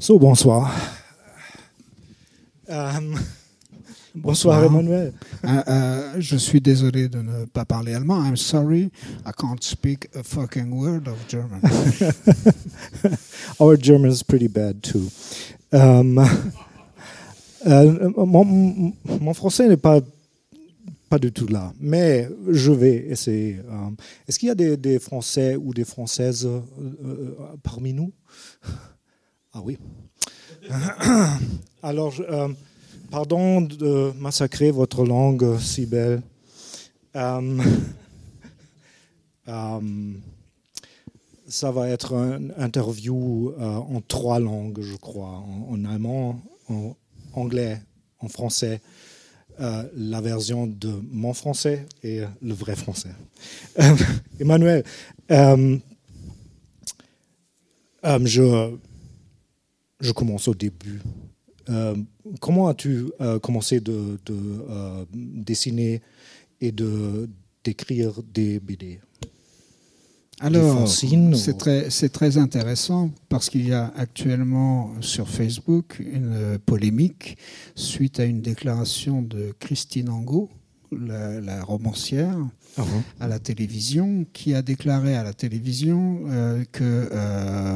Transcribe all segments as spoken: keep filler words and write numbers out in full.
So, bonsoir. Um, bonsoir, bonsoir, Emmanuel. Uh, uh, je suis désolé de ne pas parler allemand. I'm sorry, I can't speak a fucking word of German. Our German is pretty bad too. Um, uh, mon, mon français n'est pas pas du tout là, mais je vais essayer. Um, est-ce qu'il y a des, des Français ou des Françaises euh, euh, parmi nous? Ah oui. Alors, je, euh, pardon de massacrer votre langue si belle. Euh, euh, ça va être une interview euh, en trois langues, je crois, en, en allemand, en anglais, en français. Euh, la version de mon français et le vrai français. Euh, Emmanuel, euh, euh, je... Je commence au début. Euh, comment as-tu euh, commencé de, de euh, dessiner et de d'écrire des B D? Alors, c'est très, c'est très intéressant parce qu'il y a actuellement sur Facebook une polémique suite à une déclaration de Christine Angot, la, la romancière, uh-huh. à la télévision, qui a déclaré à la télévision euh, que euh,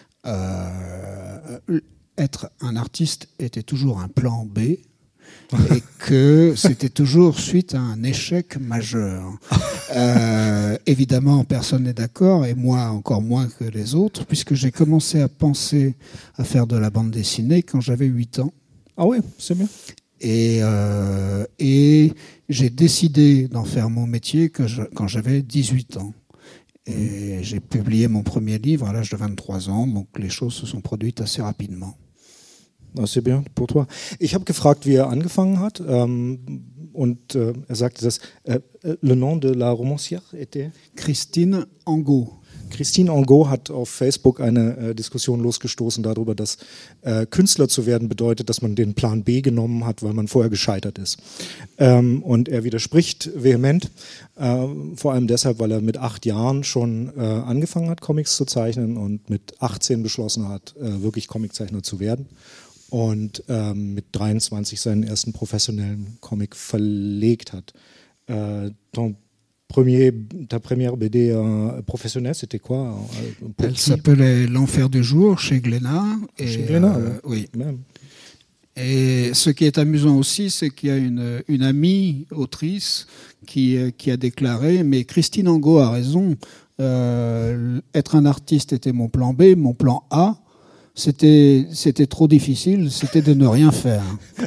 Euh, être un artiste était toujours un plan B et que c'était toujours suite à un échec majeur. Euh, évidemment, personne n'est d'accord, et moi encore moins que les autres, puisque j'ai commencé à penser à faire de la bande dessinée quand j'avais huit ans. Ah oui, c'est bien. Et, euh, et j'ai décidé d'en faire mon métier que je, quand j'avais dix-huit ans. Et j'ai publié mon premier livre à l'âge de vingt-trois ans, donc les choses se sont produites assez rapidement. Das ist bien pour toi. Ich habe gefragt, wie er angefangen hat, ähm, und äh, er sagte, dass äh, le nom de la romancière était Christine Angot. Christine Angot hat auf Facebook eine äh, Diskussion losgestoßen darüber, dass äh, Künstler zu werden bedeutet, dass man den Plan B genommen hat, weil man vorher gescheitert ist. Ähm, und er widerspricht vehement, äh, vor allem deshalb, weil er mit acht Jahren schon äh, angefangen hat, Comics zu zeichnen und mit achtzehn beschlossen hat, äh, wirklich Comiczeichner zu werden. Und ähm, mit dreiundzwanzig seinen ersten professionellen Comic verlegt hat. Äh, Premier, ta première B D euh, professionnelle, c'était quoi? Elle qui? S'appelait L'Enfer du jour chez Glénat. Et, chez Glénat, euh, oui. Même. Et ce qui est amusant aussi, c'est qu'il y a une, une amie autrice qui, qui a déclaré, mais Christine Angot a raison, euh, être un artiste était mon plan B, mon plan A, c'était, c'était trop difficile, c'était de ne rien faire.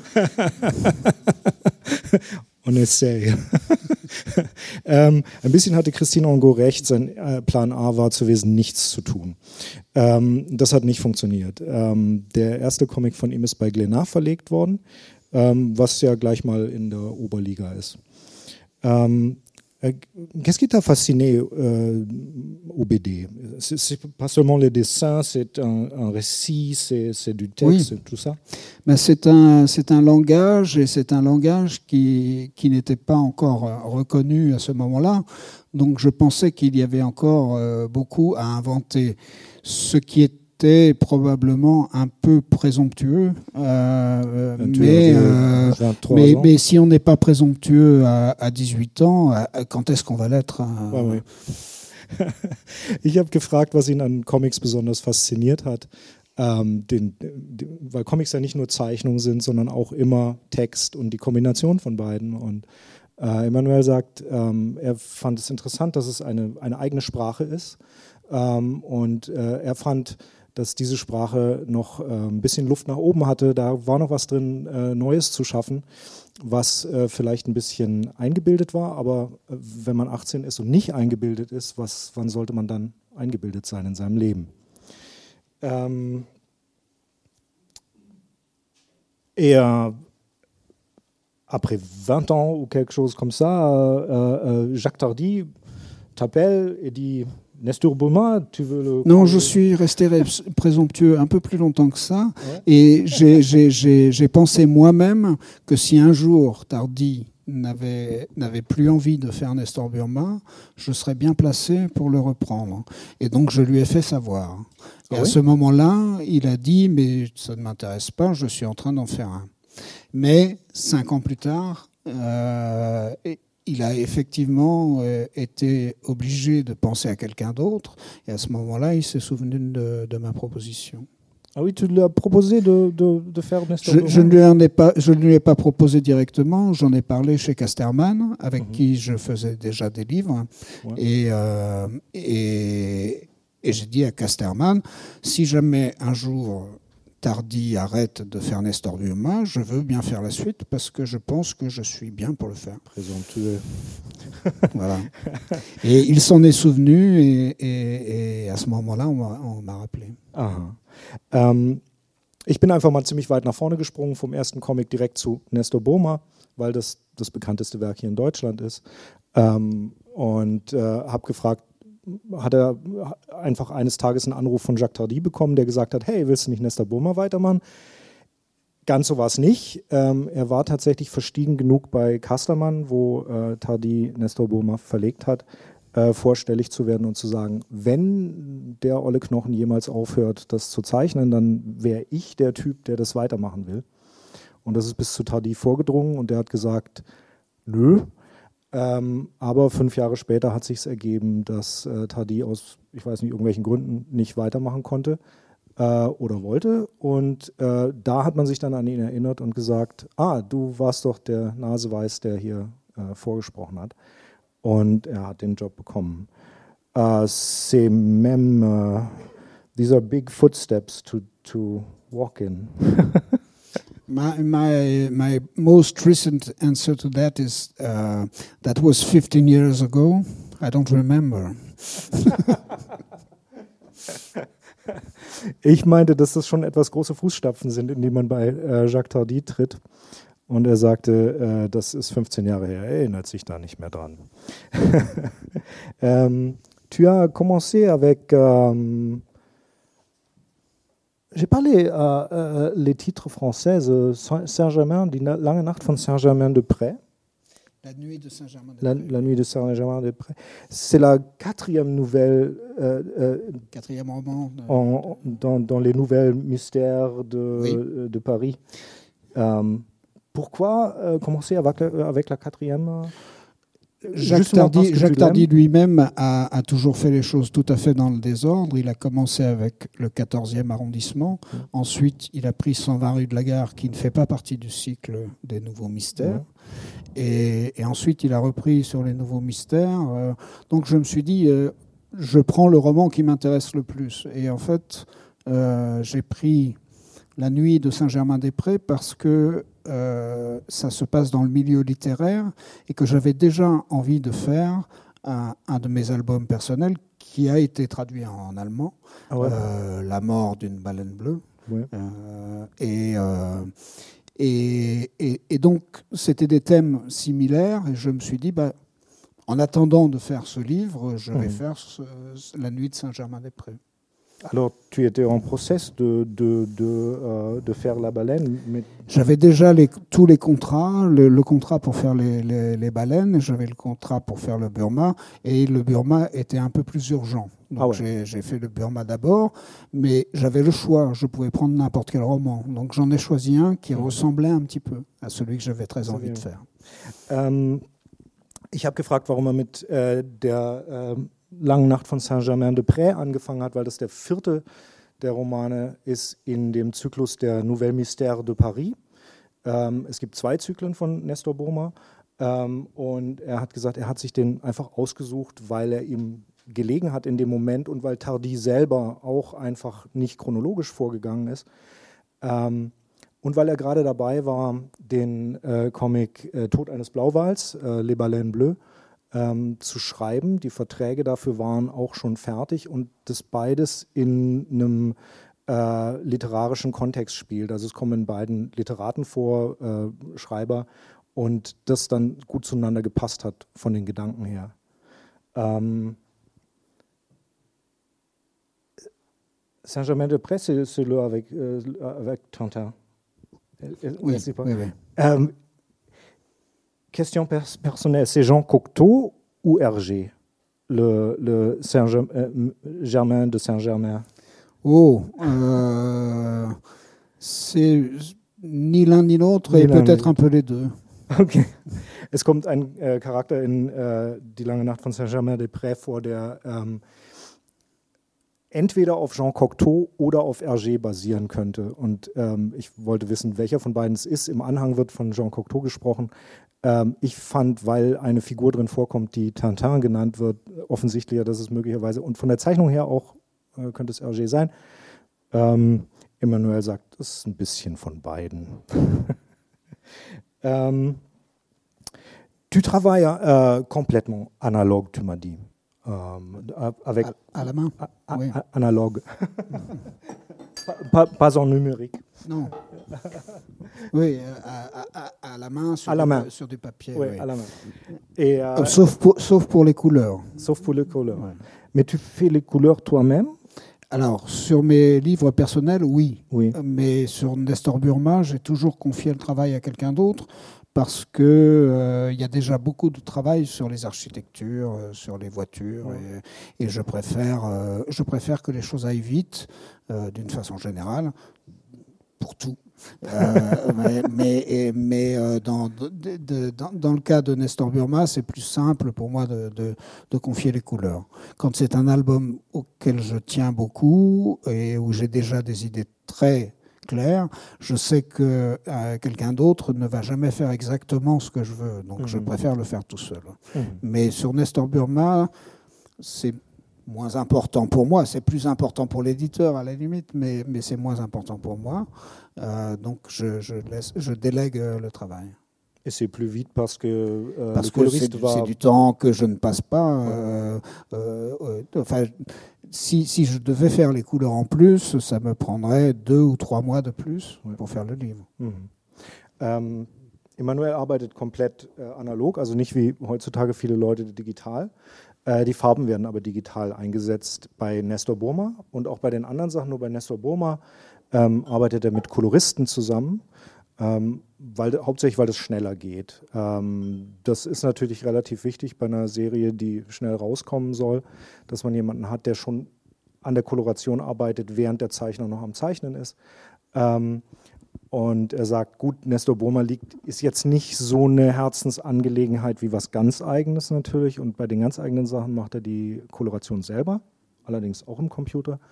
On essaye. ähm, ein bisschen hatte Christine Angot recht, sein äh, Plan A war gewesen, nichts zu tun. Ähm, das hat nicht funktioniert. Ähm, der erste Comic von ihm ist bei Glénat verlegt worden, ähm, was ja gleich mal in der Oberliga ist. Ähm, euh, qu'est-ce qui t'a fasciné euh, au B D? C'est, c'est pas seulement les dessins, c'est un, un récit, c'est, c'est du texte, oui. c'est tout ça? Ben c'est un, c'est un langage, et c'est un langage qui, qui n'était pas encore reconnu à ce moment-là. Donc je pensais qu'il y avait encore euh, beaucoup à inventer. Ce qui était probablement un peu présomptueux, euh, mais, euh, mais, mais si on n'est pas présomptueux à, à dix-huit ans, à, quand est-ce qu'on va l'être? euh... ouais, ouais. Ich habe gefragt, was ihn an Comics besonders fasziniert hat. Ähm, den, den, weil Comics ja nicht nur Zeichnungen sind, sondern auch immer Text und die Kombination von beiden. Und äh, Emmanuel sagt, ähm, er fand es interessant, dass es eine, eine eigene Sprache ist. Ähm, und äh, er fand, dass diese Sprache noch äh, ein bisschen Luft nach oben hatte. Da war noch was drin, äh, Neues zu schaffen, was äh, vielleicht ein bisschen eingebildet war. Aber äh, wenn man achtzehn ist und nicht eingebildet ist, was, wann sollte man dann eingebildet sein in seinem Leben? Ähm, et après vingt ans ou quelque chose comme ça, euh, euh, Jacques Tardy t'appelle et dit Nestor Burma, tu veux le... Non, je suis resté présomptueux un peu plus longtemps que ça, ouais. Et j'ai, j'ai, j'ai, j'ai pensé moi-même que si un jour Tardy n'avait, n'avait plus envie de faire Nestor Burma, je serais bien placé pour le reprendre. Et donc je lui ai fait savoir. Et ah à oui ce moment-là, il a dit, mais ça ne m'intéresse pas, je suis en train d'en faire un. Mais cinq ans plus tard, euh, il a effectivement euh, été obligé de penser à quelqu'un d'autre. Et à ce moment-là, il s'est souvenu de, de ma proposition. Ah oui, tu lui as proposé de, de, de faire Nestor je, je, ne lui en ai pas, je ne lui ai pas proposé directement, j'en ai parlé chez Casterman, avec mm-hmm. qui je faisais déjà des livres. Ouais. Et, euh, et, et j'ai dit à Casterman, si jamais un jour Tardi arrête de faire Nestor Burma, je veux bien faire la suite parce que je pense que je suis bien pour le faire. Présomptueux. Voilà. Et il s'en est souvenu et, et, et à ce moment-là, on m'a, on m'a rappelé. Aha. Ähm, ich bin einfach mal ziemlich weit nach vorne gesprungen vom ersten Comic direkt zu Nestor Burma, weil das das bekannteste Werk hier in Deutschland ist. Ähm, und äh, habe gefragt, hat er einfach eines Tages einen Anruf von Jacques Tardi bekommen, der gesagt hat, hey, willst du nicht Nestor Burma weitermachen? Ganz so war es nicht. Ähm, er war tatsächlich verstiegen genug bei Casterman, wo äh, Tardi Nestor Burma verlegt hat, äh, vorstellig zu werden und zu sagen, wenn der Olle Knochen jemals aufhört, das zu zeichnen, dann wäre ich der Typ, der das weitermachen will. Und das ist bis zu Tardi vorgedrungen und der hat gesagt, nö. Ähm, aber fünf Jahre später hat sich es ergeben, dass äh, Tardi aus, ich weiß nicht, irgendwelchen Gründen nicht weitermachen konnte äh, oder wollte. Und äh, da hat man sich dann an ihn erinnert und gesagt, ah, du warst doch der Naseweiß, der hier äh, vorgesprochen hat. Und er hat den Job bekommen. Uh, c'est même, uh, these are big footsteps to, to walk in. My, my my most recent answer to that is uh, that was fifteen years ago. I don't remember. Ich meinte, dass das schon etwas große Fußstapfen sind, in die man bei äh, Jacques Tardi tritt. Und er sagte, äh, das ist fünfzehn Jahre her, er erinnert sich da nicht mehr dran. ähm, tu as commencé avec... Ähm, J'ai parlé euh, euh, les titres français, euh, Saint-Germain, die lange Nacht von Saint-Germain-de-Prés. La nuit de Saint-Germain-des-Prés. La, la nuit de Saint-Germain-des-Prés. C'est la quatrième nouvelle. Euh, euh, quatrième roman. De... En, dans, dans les nouvelles mystères de, oui. euh, de Paris. Euh, pourquoi euh, commencer avec, avec la quatrième? Jacques Tardi, Jacques Tardi lui-même a, a toujours fait les choses tout à fait dans le désordre. Il a commencé avec le quatorzième arrondissement. Mmh. Ensuite, il a pris cent vingt rue de la Gare, qui ne fait pas partie du cycle des Nouveaux Mystères. Mmh. Et, et ensuite, il a repris sur les Nouveaux Mystères. Euh, donc, je me suis dit, euh, je prends le roman qui m'intéresse le plus. Et en fait, euh, j'ai pris La nuit de Saint-Germain-des-Prés parce que Euh, ça se passe dans le milieu littéraire et que j'avais déjà envie de faire un, un de mes albums personnels qui a été traduit en allemand, ah ouais. euh, La mort d'une baleine bleue. Ouais. Euh, et, euh, et, et, et donc, c'était des thèmes similaires et je me suis dit, bah, en attendant de faire ce livre, je vais mmh. faire ce, La nuit de Saint-Germain-des-Prés. Alors, tu étais en process de, de, de, euh, de faire la baleine mais... J'avais déjà les, tous les contrats, le, le contrat pour faire les, les, les baleines, j'avais le contrat pour faire le Burma, et le Burma était un peu plus urgent. Donc ah ouais. j'ai, j'ai fait le Burma d'abord, mais j'avais le choix, je pouvais prendre n'importe quel roman. Donc j'en ai choisi un qui mmh. ressemblait un petit peu à celui que j'avais très envie de faire. Ähm, ich habe gefragt, warum er mit äh, der... Ähm Langen Nacht von Saint-Germain-des-Prés angefangen hat, weil das der vierte der Romane ist in dem Zyklus der Nouvelles Mystères de Paris. Ähm, es gibt zwei Zyklen von Nestor Burma ähm, und er hat gesagt, er hat sich den einfach ausgesucht, weil er ihm gelegen hat in dem Moment und weil Tardi selber auch einfach nicht chronologisch vorgegangen ist. Ähm, und weil er gerade dabei war, den äh, Comic äh, Tod eines Blauwals, äh, Les Baleines Bleues, Ähm, zu schreiben. Die Verträge dafür waren auch schon fertig und das beides in einem äh, literarischen Kontext spielt. Also es kommen in beiden Literaten vor, äh, Schreiber, und das dann gut zueinander gepasst hat von den Gedanken her. Ähm, Saint-Germain-des-Prés, c'est, c'est le avec, euh, avec Tintin. Oui, oui, oui. Ähm, question pers personnelle, c'est Jean Cocteau ou Hergé, le, le Saint-Germain de Saint-Germain? Oh, euh, c'est ni l'un ni l'autre, et peut-être un peu les deux. Okay. Es kommt ein äh, Charakter in äh, Die lange Nacht von Saint-Germain-des-Prés vor, der ähm, entweder auf Jean Cocteau oder auf Hergé basieren könnte. Und ähm, ich wollte wissen, welcher von beiden es ist. Im Anhang wird von Jean Cocteau gesprochen. Ähm, ich fand, weil eine Figur drin vorkommt, die Tintin genannt wird, offensichtlicher, dass es möglicherweise, und von der Zeichnung her auch, äh, könnte es Hergé sein. Ähm, Emmanuel sagt, es ist ein bisschen von beiden. Euh, tu travailles euh, complètement analogue, tu m'as dit. Euh, avec à, à la main, a, a, oui. Analogue. pas, pas en numérique. Non. Oui, à, à, à la main, sur, à la main. Du, sur du papier. Oui, oui. à la main. Et, euh, sauf, pour, sauf pour les couleurs. Sauf pour les couleurs. Ouais. Mais tu fais les couleurs toi-même? Alors, sur mes livres personnels, oui. oui. Mais sur Nestor Burma, j'ai toujours confié le travail à quelqu'un d'autre parce qu'il euh, y a déjà beaucoup de travail sur les architectures, euh, sur les voitures. Ouais. Et, et je, préfère, euh, je préfère que les choses aillent vite, euh, d'une façon générale, pour tout. euh, mais mais, mais euh, dans, de, de, dans, dans le cas de Nestor Burma, c'est plus simple pour moi de, de, de confier les couleurs. Quand c'est un album auquel je tiens beaucoup et où j'ai déjà des idées très claires, je sais que euh, quelqu'un d'autre ne va jamais faire exactement ce que je veux. Donc mmh. je préfère le faire tout seul. Mmh. Mais sur Nestor Burma, c'est moins important pour moi, c'est plus important pour l'éditeur à la limite, mais, mais c'est moins important pour moi. Euh, donc je, je, laisse, je délègue le travail. Et c'est plus vite parce que euh, parce le que c'est, va... c'est du temps que je ne passe pas. Ouais. Euh, euh, euh, enfin, si, si je devais faire les couleurs en plus, ça me prendrait deux ou trois mois de plus ouais. pour faire le livre. Mhm. Ähm, Emmanuel arbeitet komplett äh, analog, also nicht wie heutzutage viele Leute digital. Äh, die Farben werden aber digital eingesetzt bei Nestor Burma und auch bei den anderen Sachen. Nur bei Nestor Burma ähm, arbeitet er mit Koloristen zusammen, ähm, weil, hauptsächlich weil das schneller geht. Ähm, das ist natürlich relativ wichtig bei einer Serie, die schnell rauskommen soll, dass man jemanden hat, der schon an der Koloration arbeitet, während der Zeichner noch am Zeichnen ist. Ähm, Und er sagt, gut, Nestor Burma liegt, ist jetzt nicht so eine Herzensangelegenheit wie was ganz Eigenes natürlich. Und bei den ganz eigenen Sachen macht er die Koloration selber, allerdings auch im Computer.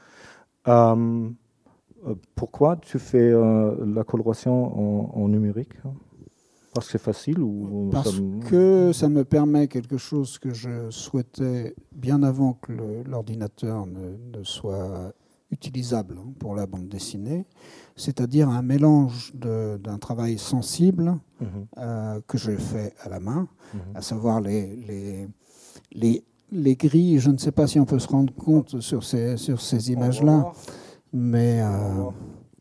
Ähm, pourquoi tu fais euh, la coloration en, en numérique? Parce que c'est facile ou Parce ça me... que ça me permet quelque chose que je souhaitais bien avant que le, l'ordinateur ne, ne soit utilisable pour la bande dessinée, c'est-à-dire un mélange de, d'un travail sensible mmh. euh, que je fais à la main, mmh. à savoir les, les, les, les gris. Je ne sais pas si on peut se rendre compte sur ces, sur ces images-là, mais euh,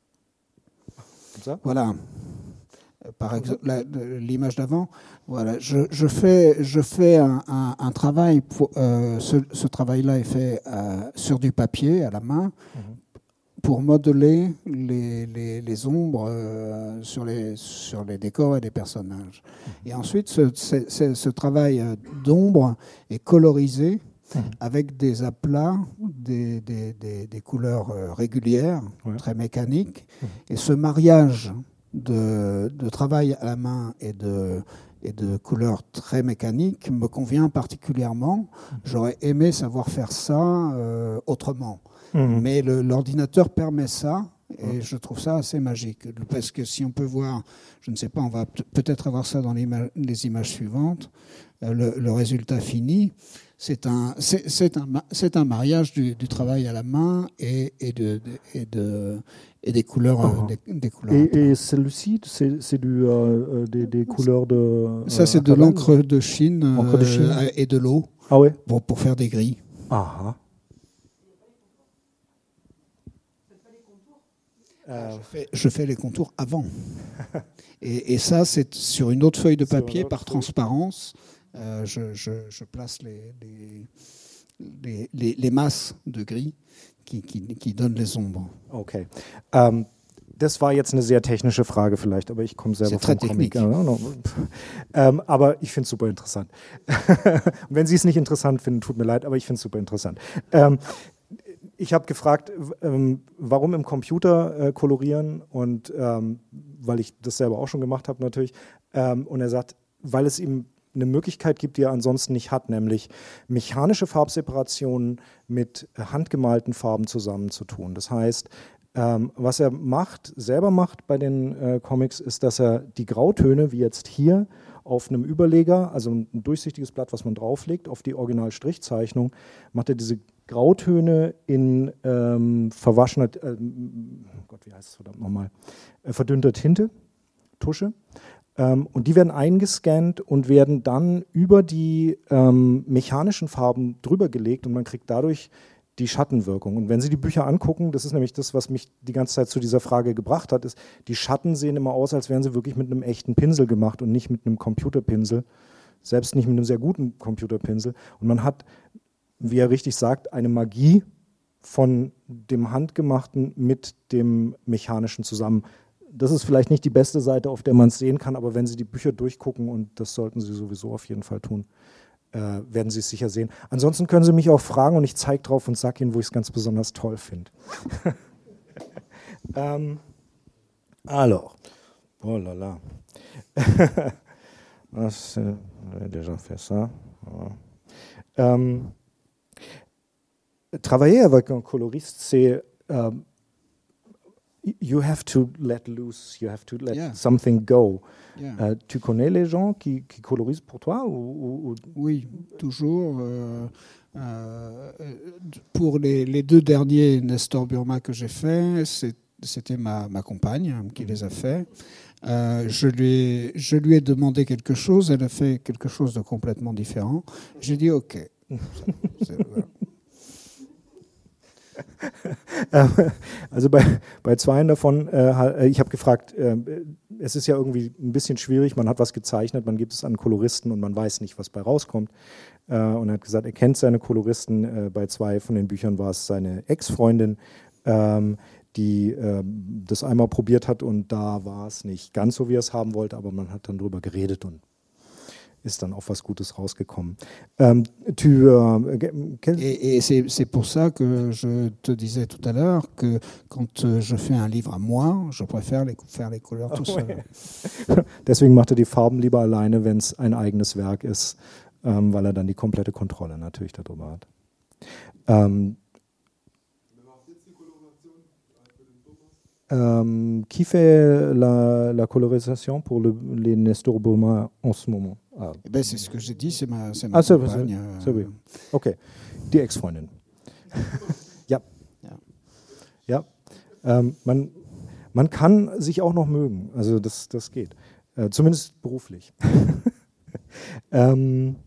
voilà. Par exemple, la, l'image d'avant, voilà, je, je fais, je fais un, un, un travail. Pour, euh, ce, ce travail-là est fait euh, sur du papier à la main mmh. pour modeler les, les, les ombres euh, sur, les, sur les décors et les personnages. Mmh. Et ensuite, ce, ce, ce travail d'ombre est colorisé mmh. avec des aplats, des, des, des, des couleurs régulières, ouais. très mécaniques, mmh. et ce mariage De, de travail à la main et de, et de couleurs très mécaniques me convient particulièrement. J'aurais aimé savoir faire ça euh, autrement. Mmh. Mais le, l'ordinateur permet ça et mmh. je trouve ça assez magique. Parce que si on peut voir, je ne sais pas, on va peut-être avoir ça dans les, ima- les images suivantes, euh, le, le résultat fini, c'est un, c'est, c'est un, c'est un mariage du, du travail à la main et, et, de, de, et, de, et des couleurs. Uh-huh. des, des couleurs et, et celui-ci, c'est, c'est du, euh, des, des couleurs de... Euh, ça, c'est de l'encre de Chine, encre de Chine. Euh, et de l'eau ah ouais. pour, pour faire des gris. Ah. Euh, je, fais, je fais les contours avant. et, et ça, c'est sur une autre feuille de papier par transparence. Euh, je, je, je place les, les, les, les, les masses de gris qui, qui, qui donnent les ombres. Okay. Ähm, Das war jetzt eine sehr technische Frage vielleicht, aber ich komme selber vom Comic. technique. ähm, aber ich finde es super interessant. Und wenn Sie es nicht interessant finden, tut mir leid, aber ich finde es super interessant. Ähm, ich habe gefragt, ähm, warum im Computer äh, kolorieren und ähm, weil ich das selber auch schon gemacht habe natürlich. Ähm, und er sagt, weil es ihm eine Möglichkeit gibt, die er ansonsten nicht hat, nämlich mechanische Farbseparationen mit handgemalten Farben zusammenzutun. Das heißt, Ähm, was er macht, selber macht bei den äh, Comics, ist, dass er die Grautöne, wie jetzt hier, auf einem Überleger, also ein durchsichtiges Blatt, was man drauflegt, auf die Original-Strichzeichnung, macht er diese Grautöne in ähm, verwaschener, äh, Gott, wie heißt es verdammt nochmal, äh, verdünnter Tinte, Tusche. Ähm, und die werden eingescannt und werden dann über die ähm, mechanischen Farben drüber gelegt und man kriegt dadurch die Schattenwirkung. Und wenn Sie die Bücher angucken, das ist nämlich das, was mich die ganze Zeit zu dieser Frage gebracht hat, ist, die Schatten sehen immer aus, als wären sie wirklich mit einem echten Pinsel gemacht und nicht mit einem Computerpinsel, selbst nicht mit einem sehr guten Computerpinsel. Und man hat, wie er richtig sagt, eine Magie von dem Handgemachten mit dem Mechanischen zusammen. Das ist vielleicht nicht die beste Seite, auf der man es sehen kann, aber wenn Sie die Bücher durchgucken, und das sollten Sie sowieso auf jeden Fall tun, Äh, werden Sie es sicher sehen. Ansonsten können Sie mich auch fragen und ich zeige drauf und sage Ihnen, wo ich es ganz besonders toll finde. ähm, alors, oh là là. J'ai déjà fait ça. Ähm, travailler avec un coloriste, c'est um, you have to let loose, you have to let Yeah. something go. Yeah. Euh, tu connais les gens qui, qui colorisent pour toi ou, ou... Oui, toujours. Euh, euh, pour les, les deux derniers Nestor Burma que j'ai faits, c'est, c'était ma, ma compagne qui les a faits. Euh, je, lui ai, je lui ai demandé quelque chose, elle a fait quelque chose de complètement différent. J'ai dit OK. C'est, voilà. Also bei, bei zweien davon, äh, ich habe gefragt, äh, es ist ja irgendwie ein bisschen schwierig, man hat was gezeichnet, man gibt es an Koloristen und man weiß nicht, was bei rauskommt. Äh, und er hat gesagt, er kennt seine Koloristen. Äh, bei zwei von den Büchern war es seine Ex-Freundin, ähm, die äh, das einmal probiert hat und da war es nicht ganz so, wie er es haben wollte, aber man hat dann drüber geredet und ist dann auf was Gutes rausgekommen. Ähm, tu, euh, quel... Et, et c'est, c'est pour ça que je te disais tout à l'heure que quand je fais un livre à moi, je préfère les, faire les couleurs tout seul. Deswegen macht er die Farben lieber alleine, wenn es ein eigenes Werk ist, ähm, weil er dann die komplette Kontrolle natürlich darüber hat. Ähm, Euh, qui fait la, la colorisation pour le, les Nestor Burma en ce moment? Ah. Eh ben, c'est ce que j'ai dit, c'est ma, c'est ma ah, compagne. C'est, c'est, c'est, okay, die Ex-Freundin. ja. Ja, ja. Ähm, man, man kann sich auch noch mögen, also das, das geht, äh, zumindest beruflich. ähm,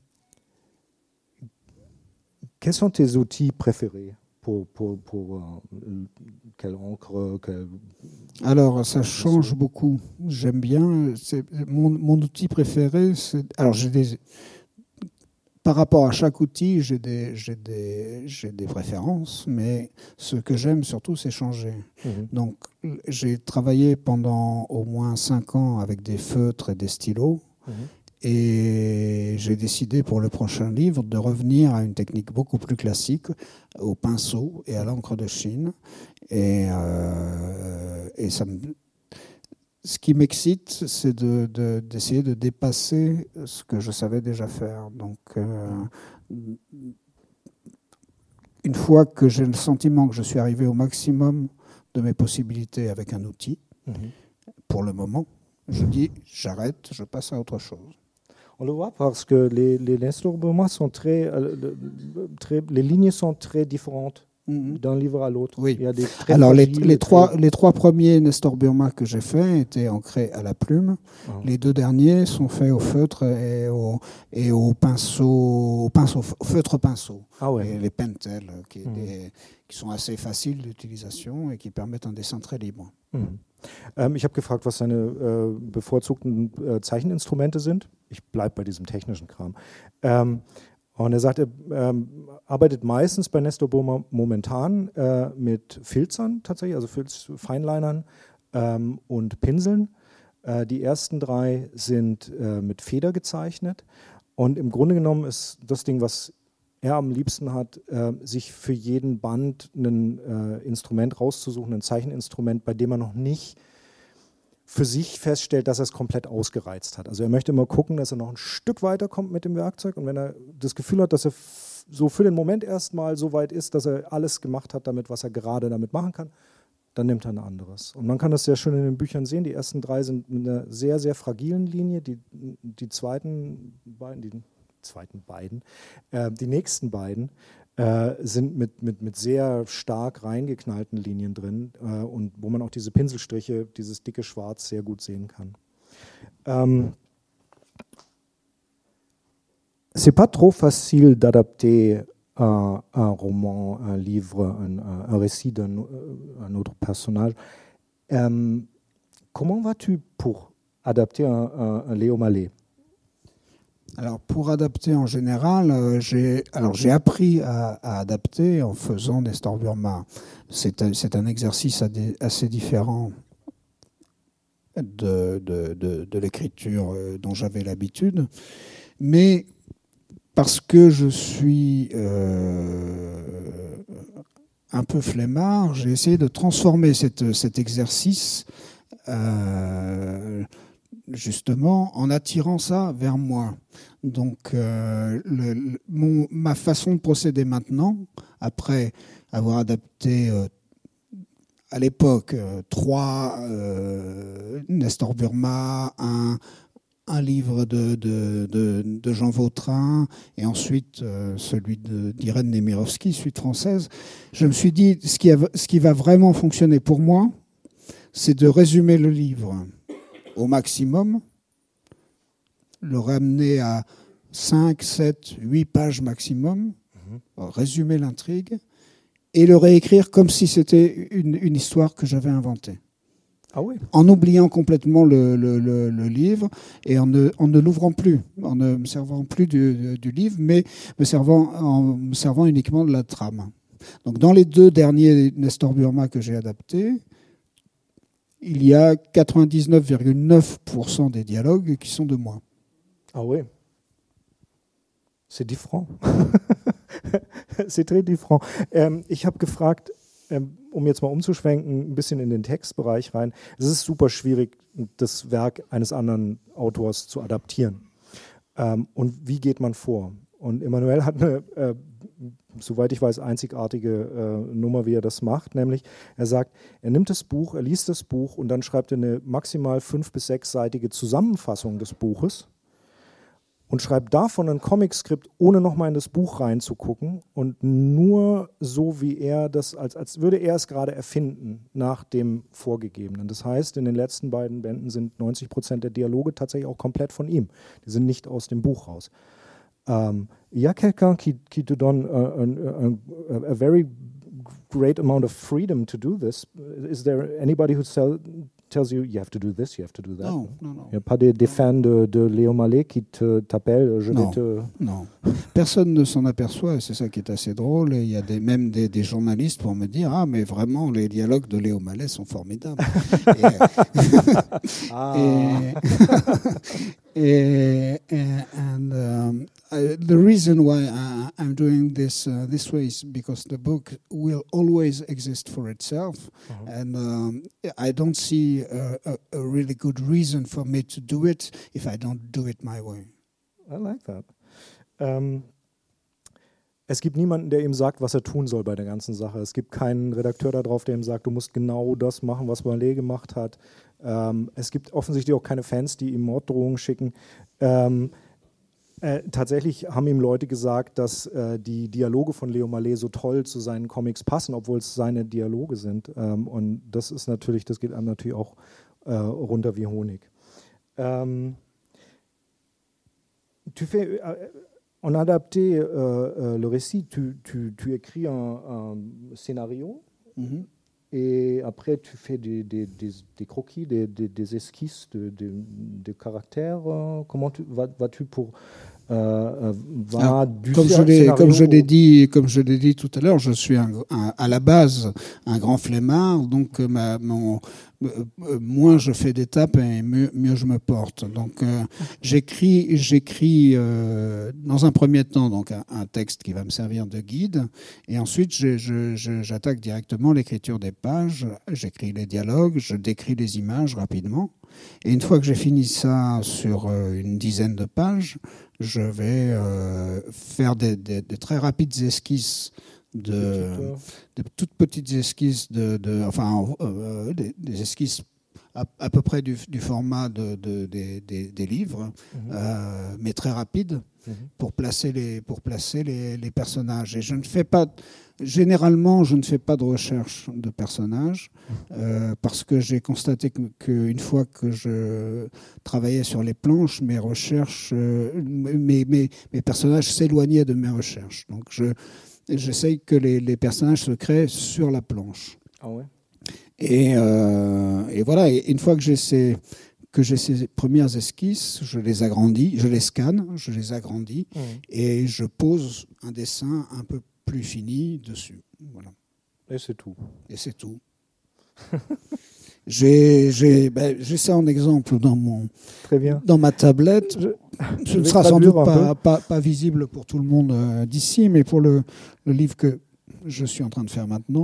quels sont tes outils préférés? Pour, pour, pour euh, quelle encre quelle... Alors, ça change beaucoup. J'aime bien. C'est, mon, mon outil préféré, c'est. Alors, j'ai des. Par rapport à chaque outil, j'ai des, j'ai des, j'ai des préférences, mais ce que j'aime surtout, c'est changer. Mm-hmm. Donc, j'ai travaillé pendant au moins cinq ans avec des feutres et des stylos. Mm-hmm. Et j'ai décidé pour le prochain livre de revenir à une technique beaucoup plus classique, au pinceau et à l'encre de Chine. Et, euh, et ça me, ce qui m'excite, c'est de, de, d'essayer de dépasser ce que je savais déjà faire. Donc, euh, une fois que j'ai le sentiment que je suis arrivé au maximum de mes possibilités avec un outil, mmh. pour le moment, je dis j'arrête, je passe à autre chose. On le voit parce que les, les Nestor Burma sont très, euh, très, les lignes sont très différentes mm-hmm. d'un livre à l'autre. Oui. Il y a des très Alors les, fragiles, les, trois, très... les trois premiers Nestor Burma que j'ai faits étaient ancrés à la plume. Oh. Les deux derniers sont faits au feutre et au, et au pinceau, au pinceau, au feutre pinceau. Ah ouais. Et les Pentel qui, mm. des, qui sont assez faciles d'utilisation et qui permettent un dessin très libre. Mm. Ähm, ich habe gefragt, was seine äh, bevorzugten äh, Zeicheninstrumente sind. Ich bleibe bei diesem technischen Kram. Ähm, und er sagt, er ähm, arbeitet meistens bei Nestor Burma momentan äh, mit Filzern tatsächlich, also Filz, Feinlinern ähm, und Pinseln. Äh, die ersten drei sind äh, mit Feder gezeichnet. Und im Grunde genommen ist das Ding, was er am liebsten hat, äh, sich für jeden Band ein äh, Instrument rauszusuchen, ein Zeicheninstrument, bei dem er noch nicht für sich feststellt, dass er es komplett ausgereizt hat. Also er möchte immer gucken, dass er noch ein Stück weiterkommt mit dem Werkzeug, und wenn er das Gefühl hat, dass er f- so für den Moment erstmal so weit ist, dass er alles gemacht hat damit, was er gerade damit machen kann, dann nimmt er ein anderes. Und man kann das sehr schön in den Büchern sehen. Die ersten drei sind mit einer sehr, sehr fragilen Linie. Die, die zweiten beiden, die zweiten beiden, äh, die nächsten beiden äh, sind mit, mit, mit sehr stark reingeknallten Linien drin äh, und wo man auch diese Pinselstriche, dieses dicke Schwarz sehr gut sehen kann. Ähm, C'est pas trop facile d'adapter un, un roman, un livre, un, un récit d'un un autre personnage. Euh, comment vas-tu pour adapter un, un, un Léo Mallet? Alors pour adapter en général, euh, j'ai alors j'ai appris à, à adapter en faisant Nestor Burma. C'est un, c'est un exercice assez différent de, de, de, de l'écriture dont j'avais l'habitude, mais parce que je suis euh, un peu flemmard, j'ai essayé de transformer cette, cet exercice euh, justement en attirant ça vers moi. Donc euh, le, le, mon, ma façon de procéder maintenant, après avoir adapté euh, à l'époque euh, trois euh, Nestor Burma, un, un livre de, de, de, de Jean Vautrin et ensuite euh, celui de, d'Irène Nemirovsky, suite française, je me suis dit ce qui, a, ce qui va vraiment fonctionner pour moi, c'est de résumer le livre au maximum, le ramener à cinq, sept, huit pages maximum, mmh. résumer l'intrigue et le réécrire comme si c'était une, une histoire que j'avais inventée. Ah oui. En oubliant complètement le, le, le, le livre et en ne, en ne l'ouvrant plus, en ne me servant plus du, du livre, mais me servant, en me servant uniquement de la trame. Donc dans les deux derniers Nestor Burma que j'ai adaptés, il y a quatre-vingt-dix-neuf virgule neuf pour cent des dialogues qui sont de moi. Ah oui. C'est différent. C'est très différent. Ähm, ich habe gefragt, ähm, um jetzt mal umzuschwenken, ein bisschen in den Textbereich rein. Es ist super schwierig, das Werk eines anderen Autors zu adaptieren. Ähm, und wie geht man vor? Und Emmanuel hat eine, äh, soweit ich weiß, einzigartige äh, Nummer, wie er das macht. Nämlich, er sagt, er nimmt das Buch, er liest das Buch und dann schreibt er eine maximal fünf- bis sechsseitige Zusammenfassung des Buches und schreibt davon ein Comicskript, ohne nochmal in das Buch reinzugucken und nur so, wie er das, als, als würde er es gerade erfinden, nach dem Vorgegebenen. Das heißt, in den letzten beiden Bänden sind neunzig Prozent der Dialoge tatsächlich auch komplett von ihm. Die sind nicht aus dem Buch raus. Um, y a quelqu'un qui, qui te donne a, a, a, a very great amount of freedom to do this? Is there anybody who tell, tells you, you have to do this, you have to do that? Non, non, non. Il n'y a pas des, des fans de, de Léo Mallet qui te, t'appellent, je non, vais te... Non, personne ne s'en aperçoit et c'est ça qui est assez drôle. Et il y a des, même des, des journalistes pour me dire, ah mais vraiment les dialogues de Léo Mallet sont formidables. et, ah. et, et, and um, uh, the reason why I, I'm doing this uh, this way is because the book will always exist for itself, uh-huh. and um, I don't see a, a, a really good reason for me to do it if I don't do it my way. I like that. Ähm, es gibt niemanden, der ihm sagt, was er tun soll bei der ganzen Sache. Es gibt keinen Redakteur da drauf, der ihm sagt, du musst genau das machen, was Mallet gemacht hat. Ähm, es gibt offensichtlich auch keine Fans, die ihm Morddrohungen schicken. Ähm, äh, tatsächlich haben ihm Leute gesagt, dass äh, die Dialoge von Léo Mallet so toll zu seinen Comics passen, obwohl es seine Dialoge sind. Ähm, und das ist natürlich, das geht einem natürlich auch äh, runter wie Honig. Ähm, tu fais, euh, on a adapté euh, euh, le récit, tu, tu, tu écris un, un scénario. Mm-hmm. Et après, tu fais des, des, des, des croquis, des, des, des esquisses de, de, de caractères. Euh, comment tu, vas, vas-tu pour äh, war Alors, du comme je l'ai, Scénario. comme je l'ai dit, comme je l'ai dit tout à l'heure, je suis un, un, à la base un grand flemmard, donc euh, ma, mon, euh, moins je fais d'étapes et mieux, mieux je me porte. Donc euh, j'écris, j'écris euh, dans un premier temps donc un, un texte qui va me servir de guide, et ensuite je, je, je, j'attaque directement l'écriture des pages. J'écris les dialogues, je décris les images rapidement, et une fois que j'ai fini ça sur euh, une dizaine de pages, je vais euh, faire des, des, des très rapides esquisses, de, de toutes petites esquisses, de, de, enfin euh, des, des esquisses à, à peu près du, du format de, de, des, des, des livres, mmh. euh, mais très rapides, mmh. pour placer, les, pour placer les, les personnages. Et je ne fais pas, généralement, je ne fais pas de recherche de personnages, euh, parce que j'ai constaté qu'une que fois que je travaillais sur les planches, mes recherches, euh, mes, mes, mes personnages s'éloignaient de mes recherches. Donc je J'essaye que les, les personnages se créent sur la planche. Ah ouais. Et, euh, et voilà, et une fois que j'ai ces, que j'ai ces premières esquisses, je les agrandis, je les scanne, je les agrandis, mmh. et je pose un dessin un peu plus fini dessus. Voilà. Et c'est tout. Et c'est tout. J'ai, j'ai, ben, j'ai ça en exemple dans, mon, Très bien. dans ma tablette. Je, Ce ne sera sans doute pas, pas, pas visible pour tout le monde euh, d'ici, mais pour le, le livre que je suis en train de faire maintenant.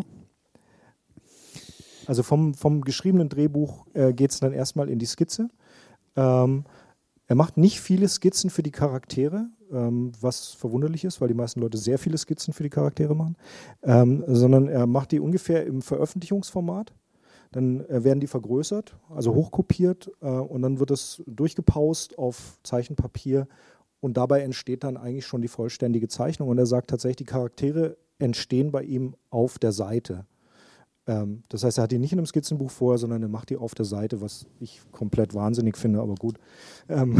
Also vom, vom geschriebenen Drehbuch äh, geht es dann erstmal in die Skizze. Ähm, er macht nicht viele Skizzen für die Charaktere, ähm, was verwunderlich ist, weil die meisten Leute sehr viele Skizzen für die Charaktere machen, ähm, sondern er macht die ungefähr im Veröffentlichungsformat. Dann äh, werden die vergrößert, also hochkopiert, äh, und dann wird es durchgepaust auf Zeichenpapier und dabei entsteht dann eigentlich schon die vollständige Zeichnung. Und er sagt tatsächlich, die Charaktere entstehen bei ihm auf der Seite. Ähm, das heißt, er hat die nicht in einem Skizzenbuch vorher, sondern er macht die auf der Seite, was ich komplett wahnsinnig finde, aber gut. Ähm.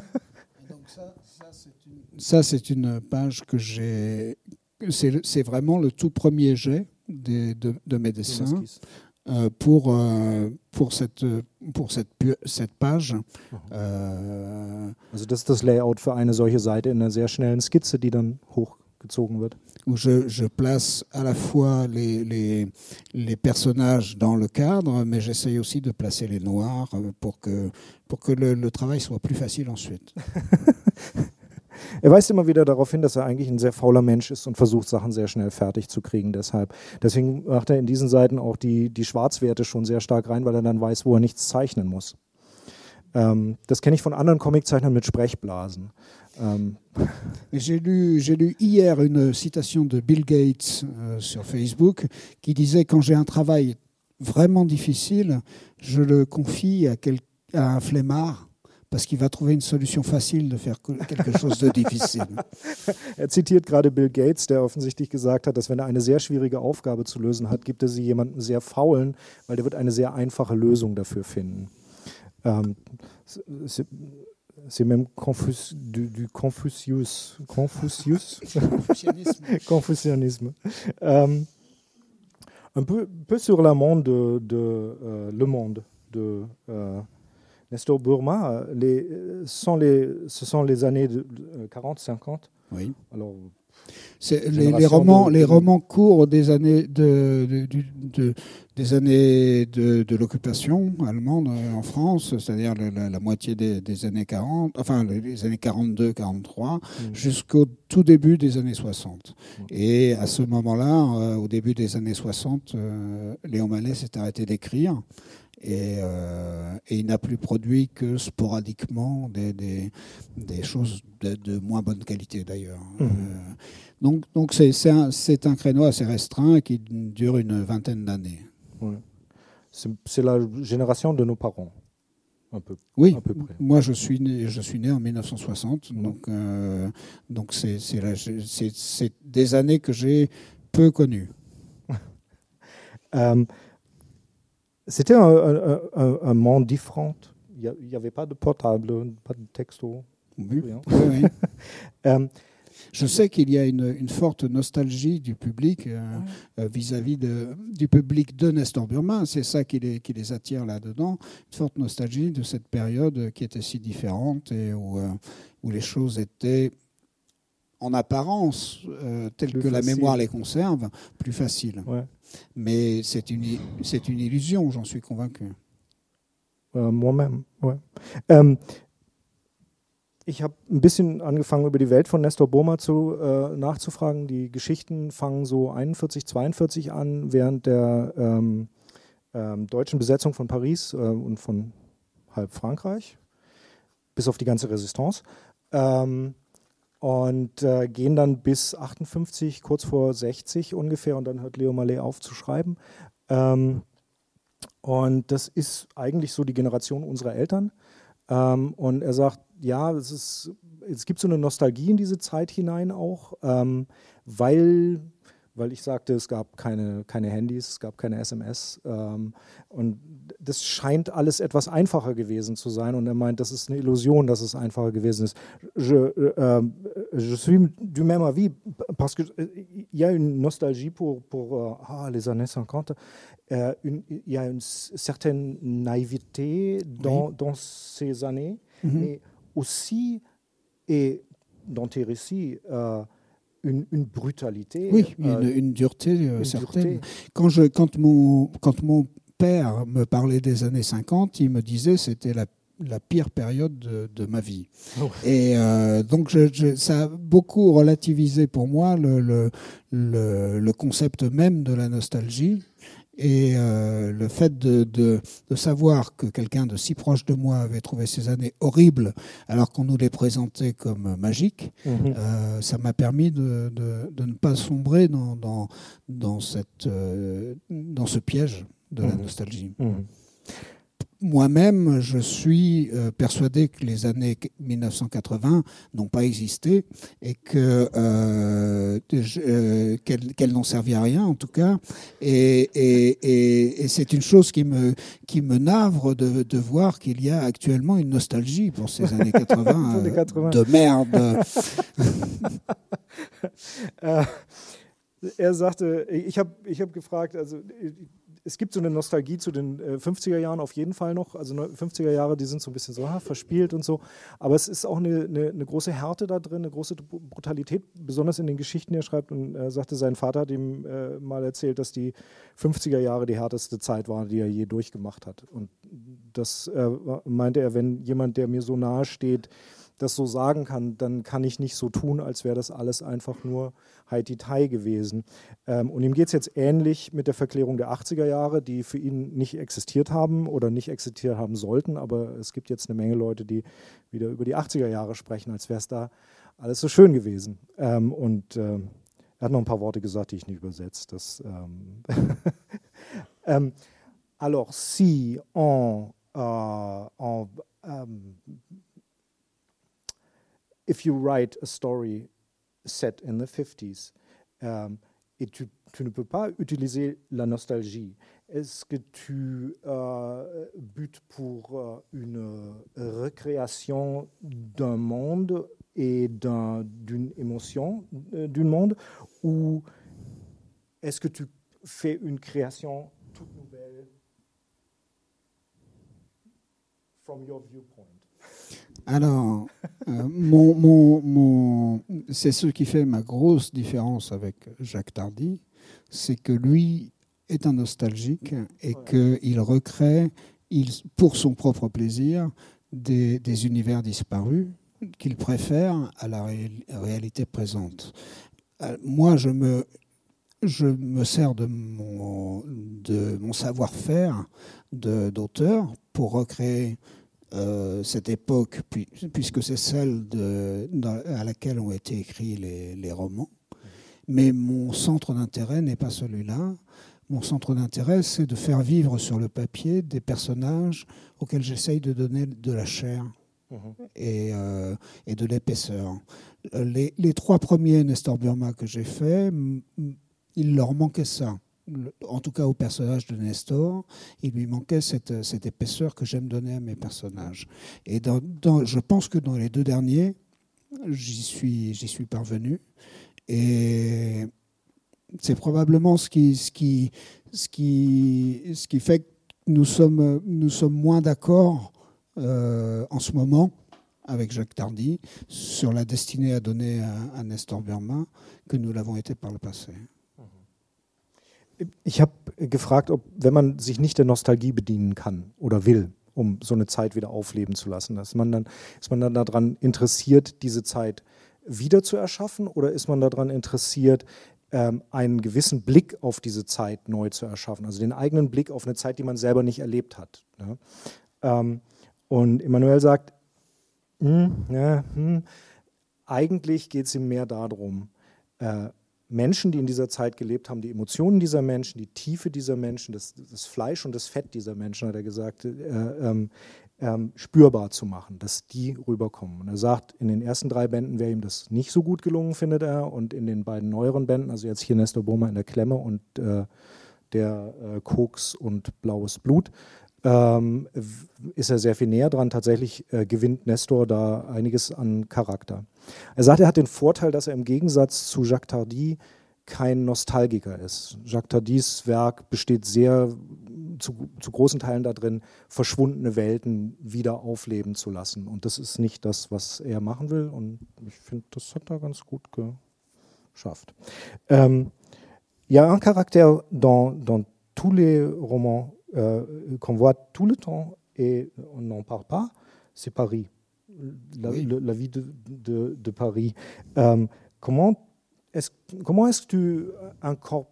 Ça, c'est une page que j'ai. C'est, c'est vraiment le tout premier jet de, de, de mes dessins. Euh, pour, euh, pour, cette, pour cette, cette page. Euh, also das ist das Layout für eine solche Seite in einer sehr schnellen Skizze, die dann hochgezogen wird. Où je, je place à la fois les, les, les personnages dans le cadre, mais j'essaye aussi de placer les noirs pour que, pour que le, le travail soit plus facile ensuite. Er weist immer wieder darauf hin, dass er eigentlich ein sehr fauler Mensch ist und versucht, Sachen sehr schnell fertig zu kriegen. Deshalb. Deswegen macht er in diesen Seiten auch die, die Schwarzwerte schon sehr stark rein, weil er dann weiß, wo er nichts zeichnen muss. Ähm, das kenne ich von anderen Comiczeichnern mit Sprechblasen. Ähm. J'ai lu, j'ai lu hier une citation de Bill Gates euh, sur Facebook qui disait « Quand j'ai un travail vraiment difficile, je le confie à, quel, à un flemmard. » Parce qu'il va trouver une solution facile de faire quelque chose de difficile. Er zitiert gerade Bill Gates, der offensichtlich gesagt hat, dass wenn er eine sehr schwierige Aufgabe zu lösen hat, gibt er sie jemandem sehr Faulen, weil der wird eine sehr einfache Lösung dafür finden. Ähm, c'est, c'est même Confus, du, du Confucius. Confucius? Confucianisme. Confucianisme. Ähm, un peu, peu sur la monde de, de euh, Le Monde de euh, Nestor Burma, les, sont les, ce sont les années de, de quarante cinquante. Oui. Alors, c'est les, les, romans, de, les romans courts des années de, de, de, de, des années de, de l'occupation allemande en France, c'est-à-dire la, la, la moitié des, des années quarante, enfin les années quarante-deux quarante-trois, mmh. jusqu'au tout début des années soixante. Mmh. Et à ce moment-là, euh, au début des années soixante, euh, Léon Mallet s'est arrêté d'écrire. Et, euh, et il n'a plus produit que sporadiquement des, des, des choses de, de moins bonne qualité d'ailleurs. Mmh. Euh, donc donc c'est, c'est, un, c'est un créneau assez restreint qui dure une vingtaine d'années. Ouais. C'est, c'est la génération de nos parents, un peu. Oui, à peu près. Moi je suis né, je suis né en mille neuf cent soixante, mmh. donc, euh, donc c'est, c'est, la, c'est, c'est des années que j'ai peu connues. um, C'était un, un, un, un monde différent. Il n'y avait pas de portable, pas de texto. Oui, rien. Oui, oui. euh, Je sais qu'il y a une, une forte nostalgie du public euh, ouais. euh, vis-à-vis de, du public de Nestor Burma. C'est ça qui les, qui les attire là-dedans. Une forte nostalgie de cette période qui était si différente et où, euh, où les choses étaient, en apparence, euh, telles plus que facile. La mémoire les conserve, plus faciles. Ouais. Mais c'est une, c'est une illusion, j'en suis convaincu. Äh, moi-même, ouais. Ähm, Ich habe ein bisschen angefangen, über die Welt von Nestor Burma zu, äh, nachzufragen. Die Geschichten fangen so einundvierzig, zweiundvierzig an, während der ähm, ähm, deutschen Besetzung von Paris äh, und von halb Frankreich, bis auf die ganze Resistance. Ähm, und äh, gehen dann bis achtundfünfzig, kurz vor sechzig ungefähr, und dann hört Leo Malet auf zu schreiben. Ähm, und das ist eigentlich so die Generation unserer Eltern. Ähm, und er sagt, ja, es, ist, es gibt so eine Nostalgie in diese Zeit hinein auch, ähm, weil, weil ich sagte, es gab keine, keine Handys, es gab keine S M S ähm, und das scheint alles etwas einfacher gewesen zu sein, und er meint, das ist eine Illusion, dass es einfacher gewesen ist. Je, euh, je suis du même avis, parce que il y a une nostalgie pour, pour ah, les années cinquante. Euh, une, il y a une certaine naïveté dans, oui. dans ces années, mm-hmm. mais aussi, et dans tes récits, euh, une, une brutalité. Oui, euh, une, une dureté euh, une certaine. Dureté. Quand, je, quand, mon, quand mon père me parlait des années cinquante, il me disait que c'était la, la pire période de, de ma vie. Oh. Et euh, donc, je, je, ça a beaucoup relativisé pour moi le, le, le, le concept même de la nostalgie. Et euh, le fait de, de, de savoir que quelqu'un de si proche de moi avait trouvé ces années horribles alors qu'on nous les présentait comme magiques, mmh. euh, ça m'a permis de, de, de ne pas sombrer dans, dans, dans, cette, euh, dans ce piège de mmh. la nostalgie. Mmh. Moi-même, je suis euh, persuadé que les années mille neuf cent quatre-vingts n'ont pas existé et que euh, euh, qu'elles, qu'elles n'ont servi à rien, en tout cas. Et, et, et, et c'est une chose qui me qui me navre de, de voir qu'il y a actuellement une nostalgie pour ces années quatre-vingts, euh, quatre-vingts. De merde. äh, er sagte, ich habe ich hab gefragt, also es gibt so eine Nostalgie zu den äh, fünfziger Jahren auf jeden Fall noch. Also fünfziger Jahre, die sind so ein bisschen so ha, verspielt und so. Aber es ist auch eine, eine, eine große Härte da drin, eine große Brutalität, besonders in den Geschichten, die er schreibt. Und er sagte, sein Vater hat ihm äh, mal erzählt, dass die fünfziger Jahre die härteste Zeit war, die er je durchgemacht hat. Und das äh, meinte er, wenn jemand, der mir so nahe steht, das so sagen kann, dann kann ich nicht so tun, als wäre das alles einfach nur Haiti-Tai gewesen. Ähm, und ihm geht es jetzt ähnlich mit der Verklärung der achtziger Jahre, die für ihn nicht existiert haben oder nicht existiert haben sollten, aber es gibt jetzt eine Menge Leute, die wieder über die achtziger Jahre sprechen, als wäre es da alles so schön gewesen. Ähm, und äh, er hat noch ein paar Worte gesagt, die ich nicht übersetze. Das, ähm ähm, alors, si on, uh, on um, if you write a story set in the fifties, um, et tu, tu ne peux pas utiliser la nostalgie, est-ce que tu euh, butes pour euh, une recréation d'un monde et d'un, d'une émotion euh, d'un monde, ou est-ce que tu fais une création toute nouvelle from your viewpoint? Alors, euh, mon, mon, mon, c'est ce qui fait ma grosse différence avec Jacques Tardy, c'est que lui est un nostalgique et ouais. qu'il recrée, il, pour son propre plaisir, des, des univers disparus qu'il préfère à la ré, réalité présente. Euh, moi, je me, je me sers de mon, de mon savoir-faire de, d'auteur pour recréer Euh, cette époque, puis, puisque c'est celle de, dans, à laquelle ont été écrits les, les romans. Mais mon centre d'intérêt n'est pas celui-là. Mon centre d'intérêt, c'est de faire vivre sur le papier des personnages auxquels j'essaye de donner de la chair mmh. et, euh, et de l'épaisseur. Les, les trois premiers Nestor Burma que j'ai faits, il leur manquait ça. En tout cas au personnage de Nestor, il lui manquait cette, cette épaisseur que j'aime donner à mes personnages. Et dans, dans, je pense que dans les deux derniers, j'y suis, j'y suis parvenu. Et c'est probablement ce qui, ce qui, ce qui, ce qui fait que nous sommes, nous sommes moins d'accord euh, en ce moment avec Jacques Tardy sur la destinée à donner à, à Nestor Burma que nous l'avons été par le passé. Ich habe gefragt, ob, wenn man sich nicht der Nostalgie bedienen kann oder will, um so eine Zeit wieder aufleben zu lassen, dass man dann, ist man dann daran interessiert, diese Zeit wieder zu erschaffen, oder ist man daran interessiert, ähm, einen gewissen Blick auf diese Zeit neu zu erschaffen, also den eigenen Blick auf eine Zeit, die man selber nicht erlebt hat. Ne? Ähm, und Emmanuel sagt, hm, ja, hm, eigentlich geht es ihm mehr darum, äh, Menschen, die in dieser Zeit gelebt haben, die Emotionen dieser Menschen, die Tiefe dieser Menschen, das, das Fleisch und das Fett dieser Menschen, hat er gesagt, äh, ähm, ähm, spürbar zu machen, dass die rüberkommen. Und er sagt, in den ersten drei Bänden wäre ihm das nicht so gut gelungen, findet er, und in den beiden neueren Bänden, also jetzt hier Nestor Burma in der Klemme und äh, der äh, Koks und Blaues Blut, ähm, ist er sehr viel näher dran. Tatsächlich äh, gewinnt Nestor da einiges an Charakter. Er sagt, er hat den Vorteil, dass er im Gegensatz zu Jacques Tardy kein Nostalgiker ist. Jacques Tardys Werk besteht sehr zu, zu großen Teilen darin, verschwundene Welten wieder aufleben zu lassen. Und das ist nicht das, was er machen will. Und ich finde, das hat er ganz gut geschafft. Ähm, il y a un caractère dans, dans tous les romans Euh, qu'on voit tout le temps et on n'en parle pas, c'est Paris, la, oui. le, la vie de, de, de Paris. Euh, comment est-ce, comment est-ce que tu incorpores,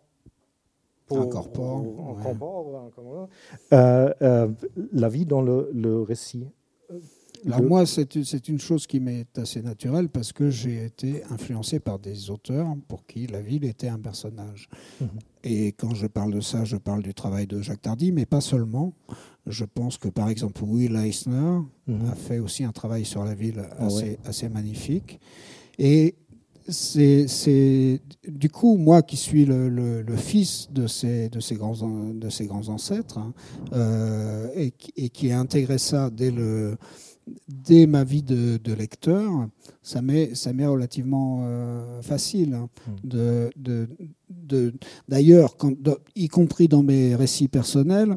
incorpore, incorpore ouais. euh, euh, la vie dans le, le récit? Alors moi, c'est, c'est une chose qui m'est assez naturelle parce que j'ai été influencé par des auteurs pour qui la ville était un personnage. Mmh. Et quand je parle de ça, je parle du travail de Jacques Tardy, mais pas seulement. Je pense que par exemple Will Eisner mmh. a fait aussi un travail sur la ville assez, oh ouais. assez magnifique. Et c'est, c'est du coup moi qui suis le, le, le fils de ces, de ces, grands, de ces grands ancêtres hein, euh, et, et qui a intégré ça dès le Dès ma vie de, de lecteur, ça m'est, ça m'est relativement euh, facile. Hein, de, de, de, d'ailleurs, quand, de, y compris dans mes récits personnels,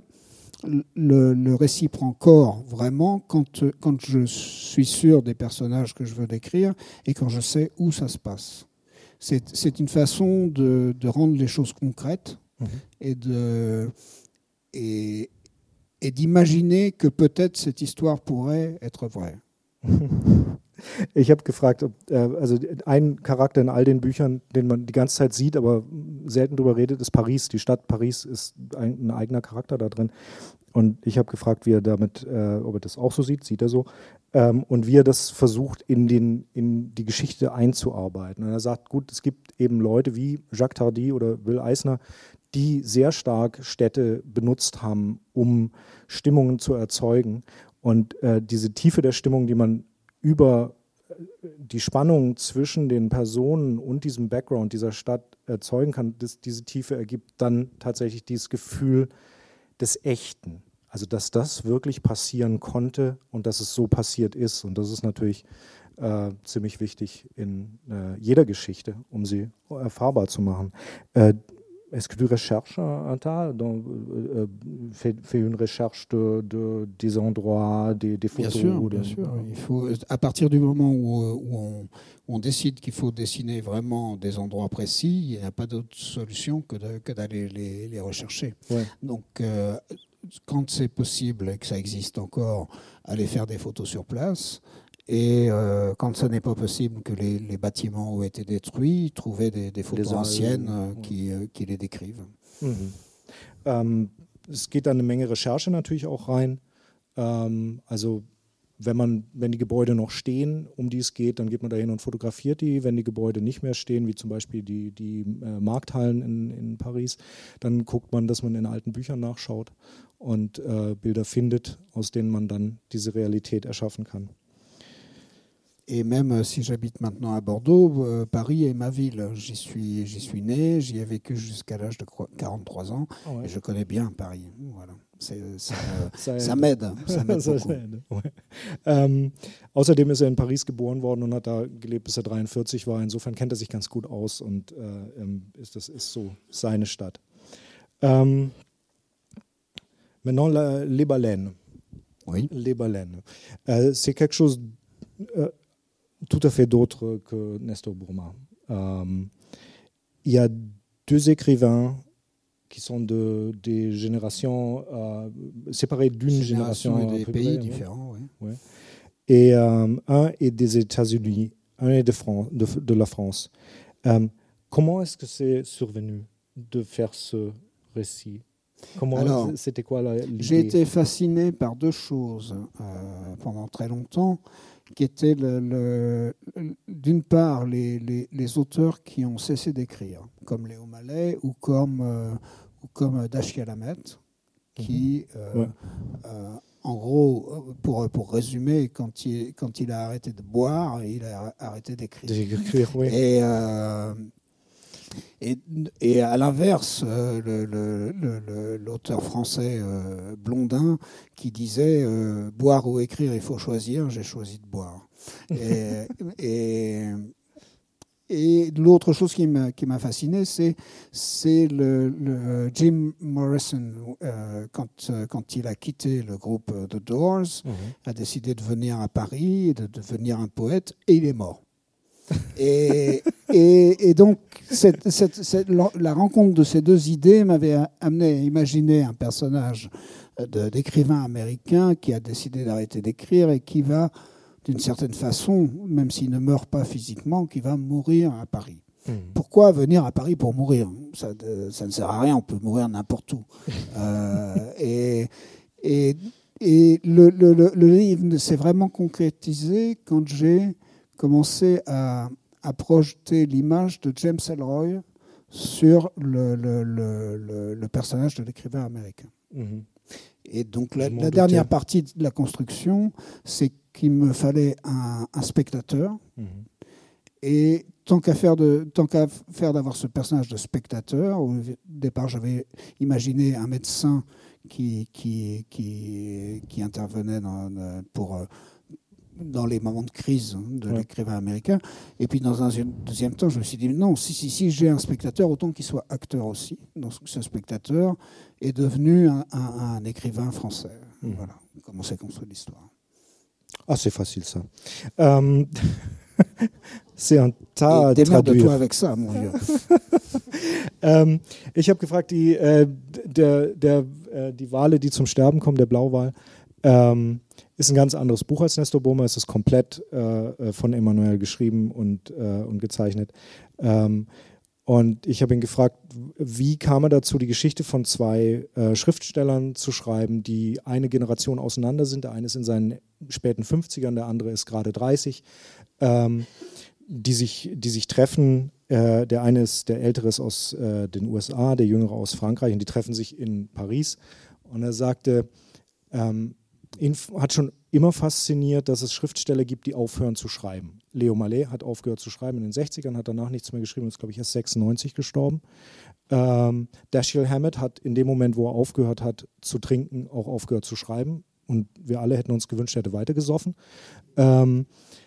le, le récit prend corps vraiment quand, quand je suis sûr des personnages que je veux décrire et quand je sais où ça se passe. C'est, c'est une façon de, de rendre les choses concrètes mmh. et de... Et, et d'imaginer que peut-être cette histoire pourrait être vraie. Ich habe gefragt, ob, äh, also ein Charakter in all den Büchern, den man die ganze Zeit sieht, aber selten drüber redet, ist Paris. Die Stadt Paris ist ein, ein eigener Charakter da drin. Und ich habe gefragt, wie er damit, äh, ob er das auch so sieht, sieht er so, ähm, und wie er das versucht, in, den, in die Geschichte einzuarbeiten. Und er sagt, gut, es gibt eben Leute wie Jacques Tardy oder Will Eisner, die sehr stark Städte benutzt haben, um Stimmungen zu erzeugen. Und äh, diese Tiefe der Stimmung, die man über die Spannung zwischen den Personen und diesem Background dieser Stadt erzeugen kann, das, diese Tiefe ergibt dann tatsächlich dieses Gefühl des Echten. Also dass das wirklich passieren konnte und dass es so passiert ist. Und das ist natürlich äh, ziemlich wichtig in äh, jeder Geschichte, um sie erfahrbar zu machen. Äh, Est-ce que tu recherches un tas, donc, euh, fais, fais une recherche de, de, des endroits, des, des photos? Bien sûr, de... bien sûr. Il faut, à partir du moment où, où, on, où on décide qu'il faut dessiner vraiment des endroits précis, il n'y a pas d'autre solution que, de, que d'aller les, les rechercher. Ouais. Donc, euh, quand c'est possible et que ça existe encore, aller faire des photos sur place. Et euh, quand ce n'est pas possible que les, les bâtiments ont été détruits, trouver des, des photos anciennes euh, qui, euh, qui les décrivent. Mhm. Ähm, es geht da eine Menge Recherche natürlich auch rein. Ähm, also wenn man, wenn die Gebäude noch stehen, um die es geht, dann geht man da hin und fotografiert die. Wenn die Gebäude nicht mehr stehen, wie zum Beispiel die, die äh, Markthallen in, in Paris, dann guckt man, dass man in alten Büchern nachschaut und äh, Bilder findet, aus denen man dann diese Realität erschaffen kann. Et même si j'habite maintenant à Bordeaux, euh, Paris est ma ville. J'y suis, j'y suis né, j'y ai vécu jusqu'à l'âge de quarante-trois ans. Oh ouais. Et je connais bien Paris. Voilà. C'est, ça, ça, ça m'aide. Ça m'aide das ouais. ähm, außerdem ist er in Paris geboren worden und hat da gelebt, bis er dreiundvierzig war. Insofern kennt er sich ganz gut aus und äh, ist, das ist so seine Stadt. Ähm, maintenant, la, les baleines. Oui. Les baleines. Euh, c'est quelque chose euh, tout à fait d'autre que Nestor Burma. Euh, il y a deux écrivains qui sont de, des générations euh, séparées d'une génération. Et des pays près, différents, oui. Ouais. Et euh, un est des États-Unis, un est de, France, de, de la France. Euh, comment est-ce que c'est survenu de faire ce récit? Comment, Alors, c'était quoi la, l'idée? J'ai été fasciné par deux choses euh, pendant très longtemps, qui étaient le, le, d'une part les, les, les auteurs qui ont cessé d'écrire, comme Léo Mallet ou comme, euh, ou comme Dashiell Hammett, qui, euh, ouais. euh, en gros, pour, pour résumer, quand il, quand il a arrêté de boire, il a arrêté d'écrire. D'écrire, oui. Et, euh, et, et à l'inverse, euh, le, le, le, l'auteur français euh, Blondin qui disait euh, « Boire ou écrire, il faut choisir, j'ai choisi de boire ». Et, et, et l'autre chose qui m'a, qui m'a fasciné, c'est, c'est le, le Jim Morrison, euh, quand, quand il a quitté le groupe The Doors, mmh. a décidé de venir à Paris, et de devenir un poète, et il est mort. Et, et, et donc, cette, cette, cette, la rencontre de ces deux idées m'avait amené à imaginer un personnage de, d'écrivain américain qui a décidé d'arrêter d'écrire et qui va, d'une certaine façon, même s'il ne meurt pas physiquement, qui va mourir à Paris. Mmh. Pourquoi venir à Paris pour mourir? ça, ça ne sert à rien, on peut mourir n'importe où. euh, et, et, et le, le, le, le livre s'est vraiment concrétisé quand j'ai commencé à, à projeter l'image de James Ellroy sur le, le, le, le, le personnage de l'écrivain américain. Mmh. Et donc la, la dernière partie de la construction, c'est qu'il me fallait un, un spectateur. Mmh. Et tant qu'à faire, de, tant qu'à faire d'avoir ce personnage de spectateur, au départ j'avais imaginé un médecin qui, qui, qui, qui intervenait dans, pour... dans les moments de crise de ouais. l'écrivain américain. Et puis, dans un deuxième temps, je me suis dit, non, si, si, si j'ai un spectateur, autant qu'il soit acteur aussi. Donc, ce spectateur est devenu un, un, un écrivain français. Mmh. Voilà comment s'est construite l'histoire. Ah, c'est facile, ça. Ähm, c'est ein tas Démerde-toi avec ça, mon vieux. ähm, ich habe gefragt, die, äh, der, der, äh, die Wale, die zum Sterben kommen, der Blauwal, ähm, ist ein ganz anderes Buch als Nestor Burma. Es ist komplett äh, von Emmanuel geschrieben und, äh, und gezeichnet. Ähm, und ich habe ihn gefragt, wie kam er dazu, die Geschichte von zwei äh, Schriftstellern zu schreiben, die eine Generation auseinander sind. Der eine ist in seinen späten fünfzigern, der andere ist gerade dreißig, ähm, die, sich, die sich treffen. Äh, der eine ist, der ältere ist aus äh, den U S A, der jüngere aus Frankreich, und die treffen sich in Paris. Und er sagte, ähm, ihn hat schon immer fasziniert, dass es Schriftsteller gibt, die aufhören zu schreiben. Léo Mallet hat aufgehört zu schreiben in den sechzigern, hat danach nichts mehr geschrieben, ist, glaube ich, erst sechsundneunzig gestorben. Ähm, Dashiell Hammett hat in dem Moment, wo er aufgehört hat zu trinken, auch aufgehört zu schreiben. Und wir alle hätten uns gewünscht, er hätte weitergesoffen. Ähm,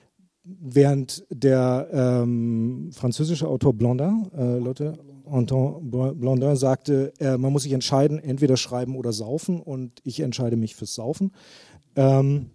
während der ähm, französische Autor Blondin, äh, Leute, Anton Blondin sagte, äh, man muss sich entscheiden, entweder schreiben oder saufen, und ich entscheide mich fürs Saufen. Ähm,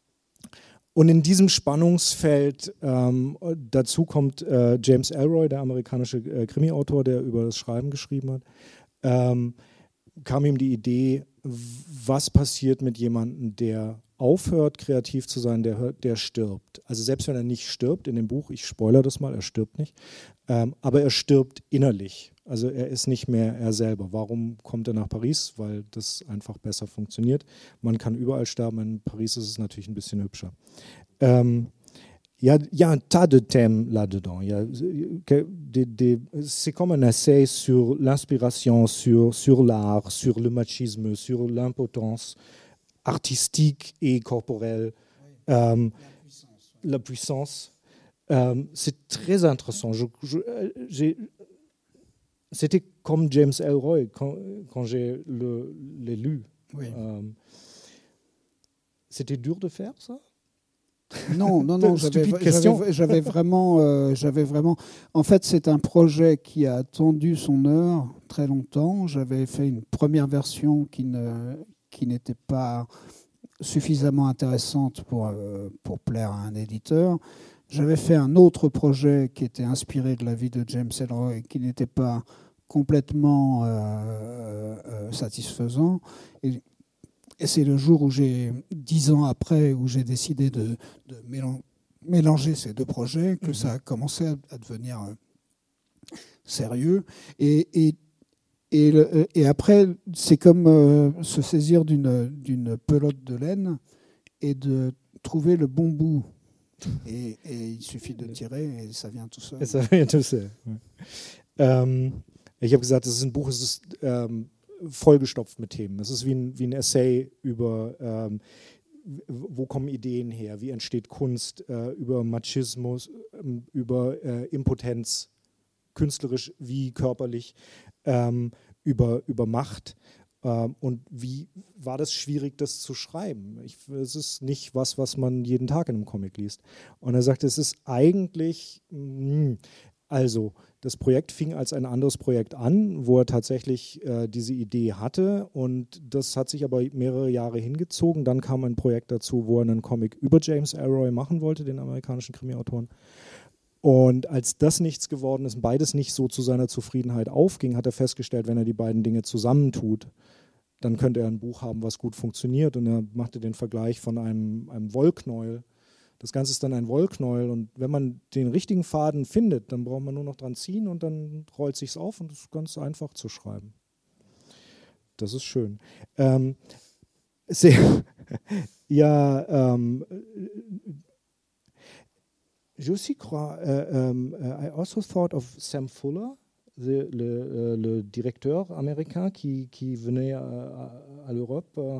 und in diesem Spannungsfeld ähm, dazu kommt äh, James Ellroy, der amerikanische äh, Krimi-Autor, der über das Schreiben geschrieben hat, ähm, kam ihm die Idee, was passiert mit jemandem, der aufhört, kreativ zu sein, der, der stirbt. Also selbst wenn er nicht stirbt, in dem Buch, ich spoilere das mal, er stirbt nicht, ähm, aber er stirbt innerlich. Also er ist nicht mehr er selber. Warum kommt er nach Paris? Weil das einfach besser funktioniert. Man kann überall sterben, in Paris ist es natürlich ein bisschen hübscher. Ähm, Il y, a, il y a un tas de thèmes là-dedans. Il y a des, des, c'est comme un essai sur l'inspiration, sur, sur l'art, sur le machisme, sur l'impotence artistique et corporelle, oui. euh, la puissance. La puissance. Euh, c'est très intéressant. Je, je, j'ai, c'était comme James Ellroy quand, quand j'ai le, l'ai lu. Oui. Euh, C'était dur de faire ça? Non, non, non, j'avais, j'avais, j'avais vraiment, euh, j'avais vraiment. En fait, c'est un projet qui a attendu son heure très longtemps. J'avais fait une première version qui ne, qui n'était pas suffisamment intéressante pour euh, pour plaire à un éditeur. J'avais fait un autre projet qui était inspiré de la vie de James Ellroy, qui n'était pas complètement euh, euh, satisfaisant. Et, Et c'est le jour où j'ai, dix ans après, où j'ai décidé de, de mélanger ces deux projets, que mmh. ça a commencé à devenir sérieux. Et, et, et, le, et après, c'est comme euh, se saisir d'une, d'une pelote de laine et de trouver le bon bout. Et, et il suffit de tirer et ça vient tout seul. Ça vient tout seul. Ähm, ich habe gesagt, es ist ein Buch, es ist ähm, vollgestopft mit Themen. Es ist wie ein, wie ein Essay über, ähm, wo kommen Ideen her, wie entsteht Kunst, äh, über Machismus, äh, über äh, Impotenz, künstlerisch wie körperlich, ähm, über, über Macht. Ähm, und wie war das schwierig, das zu schreiben? Ich, es ist nicht was, was man jeden Tag in einem Comic liest. Und er sagte, es ist eigentlich... Mh, Also, das Projekt fing als ein anderes Projekt an, wo er tatsächlich äh, diese Idee hatte und das hat sich aber mehrere Jahre hingezogen. Dann kam ein Projekt dazu, wo er einen Comic über James Ellroy machen wollte, den amerikanischen Krimi-Autoren. Und als das nichts geworden ist, beides nicht so zu seiner Zufriedenheit aufging, hat er festgestellt, wenn er die beiden Dinge zusammentut, dann könnte er ein Buch haben, was gut funktioniert. Und er machte den Vergleich von einem, einem Wollknäuel. Das Ganze ist dann ein Wollknäuel und wenn man den richtigen Faden findet, dann braucht man nur noch dran ziehen und dann rollt sich's auf und es ist ganz einfach zu schreiben. Das ist schön. Ähm, sehr, ja, ähm, je aussi crois, euh, um, I also thought of Sam Fuller, the, le, le directeur américain qui, qui venait à, à, à l'Europe. Euh,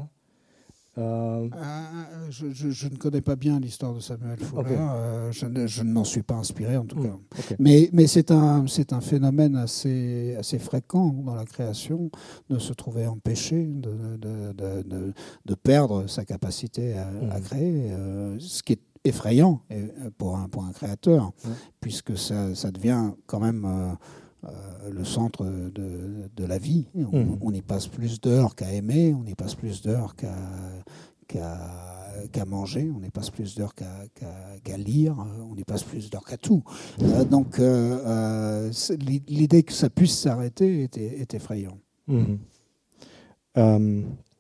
Euh, euh, je, je, je ne connais pas bien l'histoire de Samuel Fuller. Okay. Euh, je, ne, je ne m'en suis pas inspiré en tout mmh, cas. Okay. Mais, mais c'est un, c'est un phénomène assez, assez fréquent dans la création de se trouver empêché de, de, de, de, de perdre sa capacité à, mmh. à créer, euh, ce qui est effrayant pour un, pour un créateur, mmh. puisque ça, ça devient quand même... Euh, Euh, le centre de, de la vie. On, mmh. on y passe plus d'heures qu'à aimer, on y passe plus d'heures qu'à, qu'à, qu'à manger, on y passe plus d'heures qu'à, qu'à, qu'à lire, on y passe plus d'heures qu'à tout. Euh, donc euh, euh, l'idée que ça puisse s'arrêter est, est effrayant. Mmh. Ähm.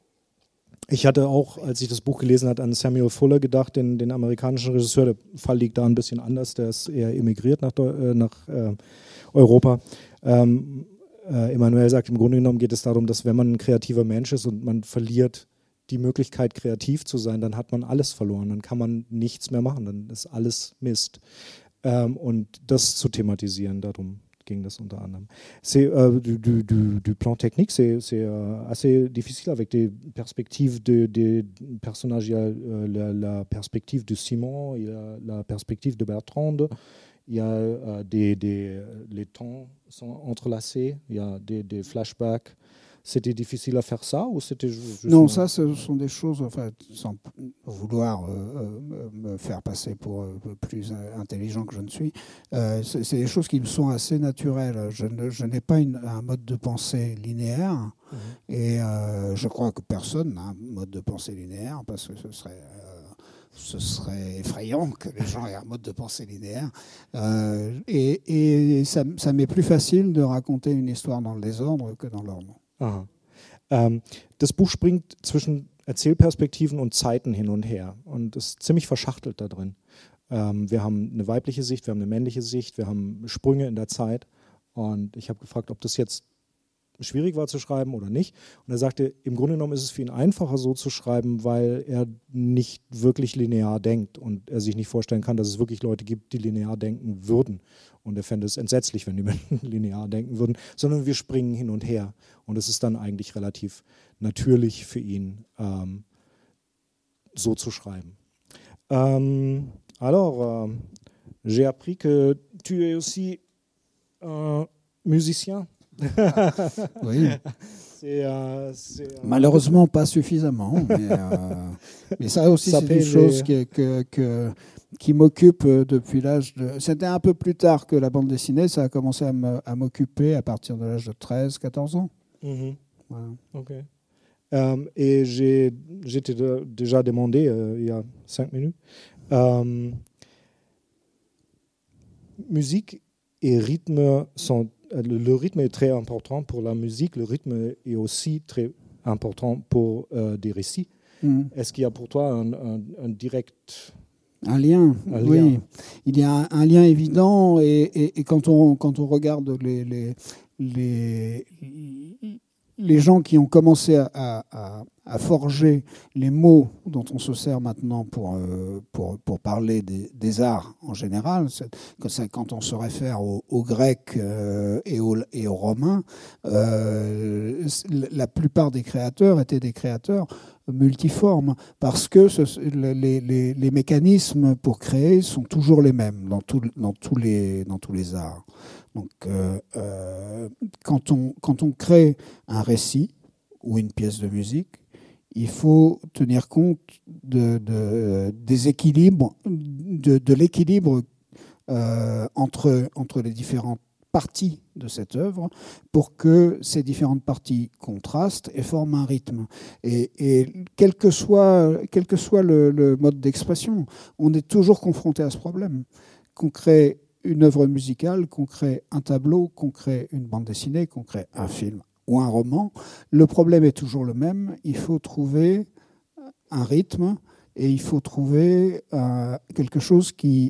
Ich hatte auch, als ich das Buch gelesen habe, an Samuel Fuller gedacht, den, den amerikanischen Regisseur. Der Fall liegt da ein bisschen anders, der ist eher emigriert nach, äh, nach äh, Europa. Ähm, äh, Emanuel sagt, im Grunde genommen geht es darum, dass wenn man ein kreativer Mensch ist und man verliert die Möglichkeit, kreativ zu sein, dann hat man alles verloren, dann kann man nichts mehr machen, dann ist alles Mist. Ähm, und das zu thematisieren, darum ging das unter anderem. C'est euh, du, du, du, du plan technique, c'est, c'est euh, assez difficile avec des perspectives de, de personnages. Il y a euh, la, la perspective de Simon, il y a la perspective de Bertrande, il y a euh, des, des, les temps sont entrelacés, il y a des, des flashbacks. C'était difficile à faire ça ou c'était juste... Non, ça, ce sont des choses, enfin, sans vouloir euh, me faire passer pour euh, plus intelligent que je ne suis, euh, c'est, c'est des choses qui me sont assez naturelles. Je, ne, je n'ai pas une, un mode de pensée linéaire mmh. et euh, je crois que personne n'a un mode de pensée linéaire parce que ce serait... Euh, ce serait effrayant que les gens aient un mode de pensée linéaire. Euh, et et ça, ça m'est plus facile de raconter une histoire dans le désordre que dans l'ordre. Aha. Ähm, das Buch springt zwischen Erzählperspektiven und Zeiten hin und her und ist ziemlich verschachtelt da drin. Ähm, wir haben eine weibliche Sicht, wir haben eine männliche Sicht, wir haben Sprünge in der Zeit und ich habe gefragt, ob das jetzt schwierig war zu schreiben oder nicht. Und er sagte, im Grunde genommen ist es für ihn einfacher so zu schreiben, weil er nicht wirklich linear denkt und er sich nicht vorstellen kann, dass es wirklich Leute gibt, die linear denken würden. Und er fände es entsetzlich, wenn die Menschen linear denken würden, sondern wir springen hin und her. Und es ist dann eigentlich relativ natürlich für ihn, ähm, so zu schreiben. Ähm, alors, euh, j'ai appris que tu es aussi un musicien. Oui. C'est, euh, c'est, euh, Malheureusement, pas suffisamment. Mais, euh, mais ça aussi, Ça c'est paye une chose les- que, que, que- qui m'occupe depuis l'âge de... C'était un peu plus tard que la bande dessinée. Ça a commencé à me- à m'occuper à partir de l'âge de treize, quatorze ans. Mhm. Voilà. Ok. Euh, et j'ai, j'étais de- déjà demandé euh, il y a cinq minutes. Euh, musique et rythme sont. Le, le rythme est très important pour la musique. Le rythme est aussi très important pour euh, des récits. Mhm. Est-ce qu'il y a pour toi un, un- un direct. Un lien, Un oui. lien. Il y a un, un lien évident et, et- et quand, on, quand on regarde les, les, les, les gens qui ont commencé à, à- à forger les mots dont on se sert maintenant pour, euh, pour, pour parler des, des arts en général, c'est, que c'est quand on se réfère aux, aux Grecs euh, et, aux, et aux Romains, euh, la plupart des créateurs étaient des créateurs multiformes, parce que ce, les, les, les mécanismes pour créer sont toujours les mêmes dans, tout, dans, tous, les, dans tous les arts. Donc, euh, euh, quand, on, quand on crée un récit ou une pièce de musique, il faut tenir compte de, de, des équilibres, de, de l'équilibre euh, entre, entre les différentes parties de cette œuvre pour que ces différentes parties contrastent et forment un rythme. Et, et quel que soit, quel que soit le, le mode d'expression, on est toujours confronté à ce problème. Qu'on crée une œuvre musicale, qu'on crée un tableau, qu'on crée une bande dessinée, qu'on crée un film ou un roman, le problème est toujours le même. Il faut trouver un rythme et il faut trouver euh, quelque chose qui,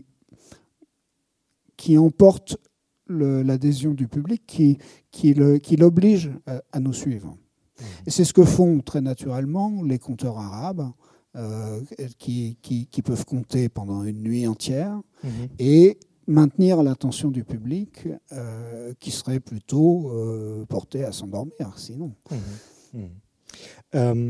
qui emporte Le, l'adhésion du public qui, qui, le, qui l'oblige à, à nous suivre. Et c'est ce que font très naturellement les conteurs arabes euh, qui, qui, qui peuvent compter pendant une nuit entière Mhm. et maintenir l'attention du public euh, qui serait plutôt euh, porté à s'endormir sinon. Mhm. Mhm. Ähm,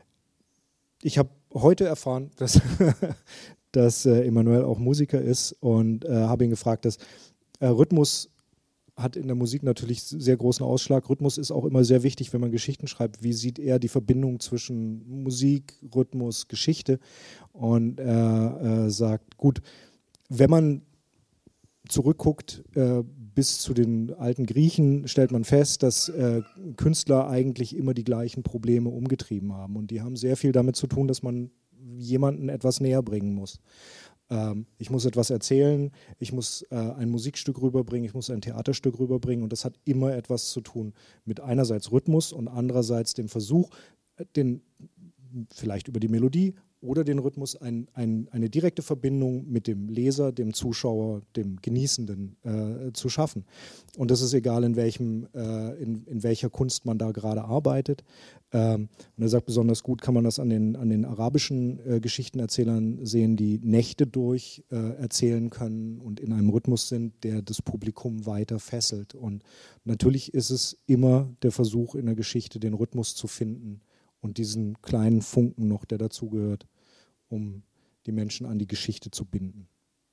ich habe heute erfahren, dass, dass äh, Emanuel auch Musiker ist und äh, habe ihn gefragt, dass äh, Rhythmus hat in der Musik natürlich sehr großen Ausschlag. Rhythmus ist auch immer sehr wichtig, wenn man Geschichten schreibt. Wie sieht er die Verbindung zwischen Musik, Rhythmus, Geschichte? Und er äh, sagt, gut, wenn man zurückguckt äh, bis zu den alten Griechen, stellt man fest, dass äh, Künstler eigentlich immer die gleichen Probleme umgetrieben haben. Und die haben sehr viel damit zu tun, dass man jemanden etwas näher bringen muss. Ähm, ich muss etwas erzählen, ich muss äh, ein Musikstück rüberbringen, ich muss ein Theaterstück rüberbringen. Und das hat immer etwas zu tun mit einerseits Rhythmus und andererseits dem Versuch, den, vielleicht über die Melodie oder den Rhythmus ein, ein, eine direkte Verbindung mit dem Leser, dem Zuschauer, dem Genießenden äh, zu schaffen. Und das ist egal, in, welchem, äh, in, in welcher Kunst man da gerade arbeitet. Ähm, und er sagt, besonders gut kann man das an den, an den arabischen äh, Geschichtenerzählern sehen, die Nächte durch äh, erzählen können und in einem Rhythmus sind, der das Publikum weiter fesselt. Und natürlich ist es immer der Versuch in der Geschichte, den Rhythmus zu finden und diesen kleinen Funken noch, der dazugehört, um die Menschen an die Geschichte zu binden.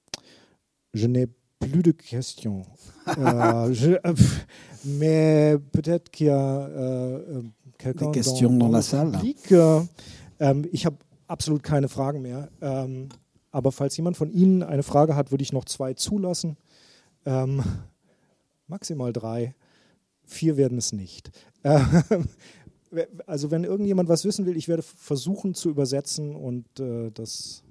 Je n'ai plus de questions. euh, je, euh, mais peut-être qu'il y a euh, quelqu'un Des questions dans, dans dans la le salle. Public. Äh, ähm, ich habe absolut keine Fragen mehr. Ähm, aber falls jemand von Ihnen eine Frage hat, würde ich noch zwei zulassen. Ähm, maximal drei. Vier werden es nicht. Ähm, Also wenn irgendjemand was wissen will, ich werde versuchen zu übersetzen und äh, das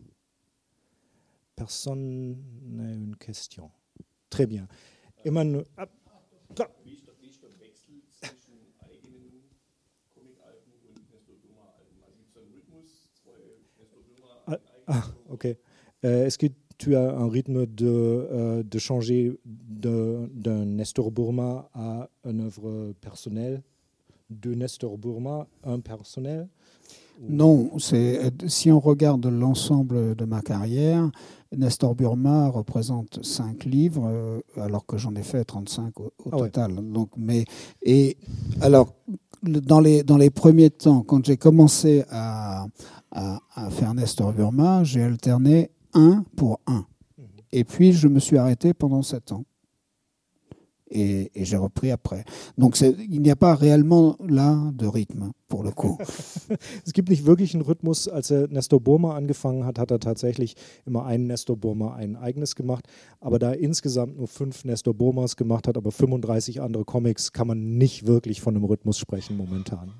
Personne n'a une question. Très bien. Immer nur, ah, klar. Wie ist, der, wie ist der Wechsel zwischen eigenen Comic-Alben und Nestor Burma-Alben? Also gibt es einen Rhythmus, zwei Nestor Burma-Alben? Ah, ok. Euh, Est-ce que tu as un rythme de, euh, de changer de- d'un Nestor Burma à une œuvre personnelle? De Nestor Burma, un personnel? Non, c'est, si on regarde l'ensemble de ma carrière, Nestor Burma représente cinq livres, euh, alors que j'en ai fait trente-cinq au, au Ah ouais. total. Donc, mais, et alors, le- dans les, dans les premiers temps, quand j'ai commencé à, à, à faire Nestor Burma, j'ai alterné un pour un. Et puis, je me suis arrêté pendant sept ans. et, et j'ai repris après. Donc c'est, il n'y a pas réellement là de rythme pour le coup. Es gibt nicht wirklich einen Rhythmus. Als er Nestor Burma angefangen hat, hat er tatsächlich immer einen Nestor Burma, ein eigenes gemacht. Aber da er insgesamt nur fünf Nestor Burmas gemacht hat, aber fünfunddreißig andere Comics, kann man nicht wirklich von einem Rhythmus sprechen momentan.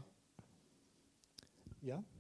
Ja?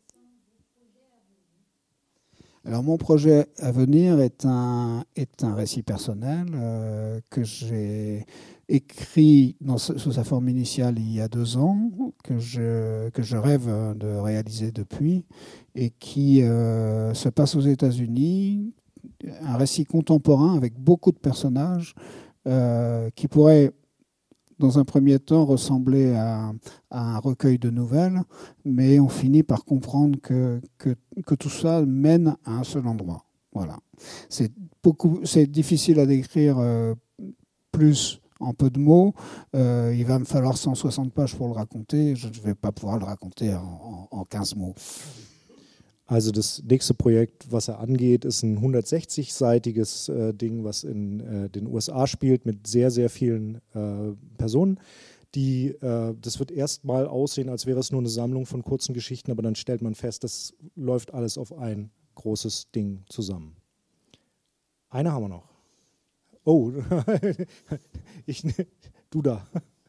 Alors mon projet à venir est un, est un récit personnel euh, que j'ai écrit dans, sous sa forme initiale il y a deux ans, que je, que je rêve de réaliser depuis, et qui euh, se passe aux États-Unis, un récit contemporain avec beaucoup de personnages euh, qui pourrait dans un premier temps ressembler à, à un recueil de nouvelles, mais on finit par comprendre que, que, que tout ça mène à un seul endroit. Voilà. C'est, beaucoup, c'est difficile à décrire euh, plus en peu de mots. Euh, il va me falloir cent soixante pages pour le raconter. Je ne vais pas pouvoir le raconter en, en, en quinze mots. Also das nächste Projekt, was er angeht, ist ein hundertsechzig-seitiges äh, Ding, was in äh, den U S A spielt, mit sehr, sehr vielen äh, Personen. Die, äh, das wird erstmal aussehen, als wäre es nur eine Sammlung von kurzen Geschichten, aber dann stellt man fest, das läuft alles auf ein großes Ding zusammen. Eine haben wir noch. Oh, ich, du da.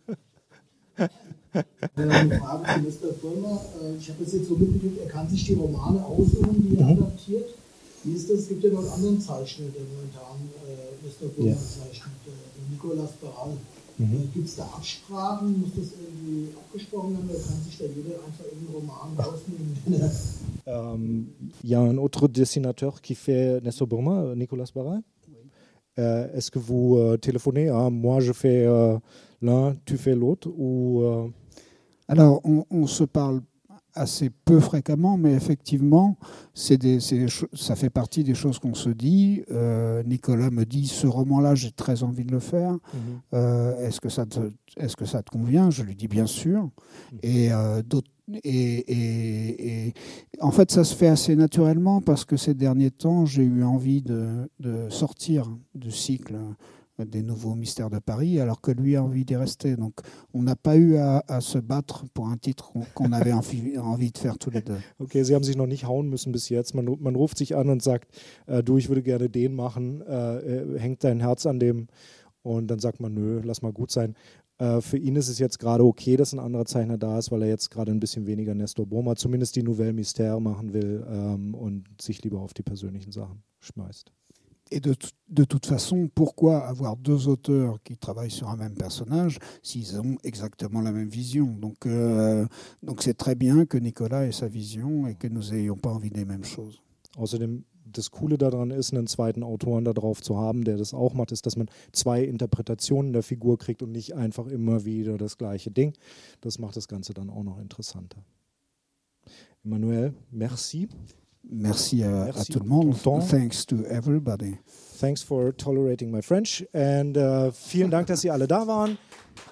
Eine Frage zu Nestor Burma. Ich habe das jetzt so mitgekriegt, er kann sich die Romane aussuchen, die er mhm. adaptiert. Wie ist das? Es gibt ja noch einen anderen Zeichner, der momentan äh, Nestor Burma ja. zeichnet, äh, Nicolas Barral. Mhm. Äh, Gibt es da Absprachen? Muss das irgendwie abgesprochen werden? Oder kann sich da jeder einfach irgendeinen Roman rausnehmen? um, Il y a un autre dessinateur qui fait Nestor Burma, Nicolas Barral. Euh, est-ce que vous euh, téléphonez à moi, je fais euh, l'un, tu fais l'autre ou euh... Alors, on, on se parle assez peu fréquemment, mais effectivement, c'est des, c'est des cho- ça fait partie des choses qu'on se dit. Euh, Nicolas me dit, ce roman-là, j'ai très envie de le faire. Mm-hmm. Euh, est-ce que ça te, est-ce que ça te convient ? Je lui dis bien sûr. Mm-hmm. Et, euh, d'autres, et, et, et en fait, ça se fait assez naturellement parce que ces derniers temps, j'ai eu envie de, de sortir du cycle des nouveaux mystères de Paris, alors que lui a envie d'y rester. Donc, on n'a pas eu à, à se battre pour un titre qu'on, qu'on avait envie, envie de faire tous les deux. Okay, Sie haben sich noch nicht hauen müssen bis jetzt. Man, man ruft sich an und sagt, äh, du, ich würde gerne den machen, äh, hängt dein Herz an dem? Und dann sagt man, nö, lass mal gut sein. Äh, für ihn ist es jetzt gerade okay, dass ein anderer Zeichner da ist, weil er jetzt gerade ein bisschen weniger Nestor Burma, zumindest die Nouvelle Mystère machen will ähm, und sich lieber auf die persönlichen Sachen schmeißt. Et de, de toute façon, pourquoi avoir deux auteurs qui travaillent sur un même personnage s'ils ont exactement la même vision ? Donc, euh, donc c'est très bien que Nicolas ait sa vision et que nous n'ayons pas envie des mêmes choses. Außerdem, das Coole daran ist, einen zweiten Autoren da drauf zu haben, der das auch macht, ist, dass man zwei Interpretationen der Figur kriegt und nicht einfach immer wieder das gleiche Ding. Das macht das Ganze dann auch noch interessanter. Emmanuel, merci. Merci à, Merci à tout le monde. Temps. Thanks to everybody. Thanks for tolerating my French. And uh, vielen Dank, dass Sie alle da waren.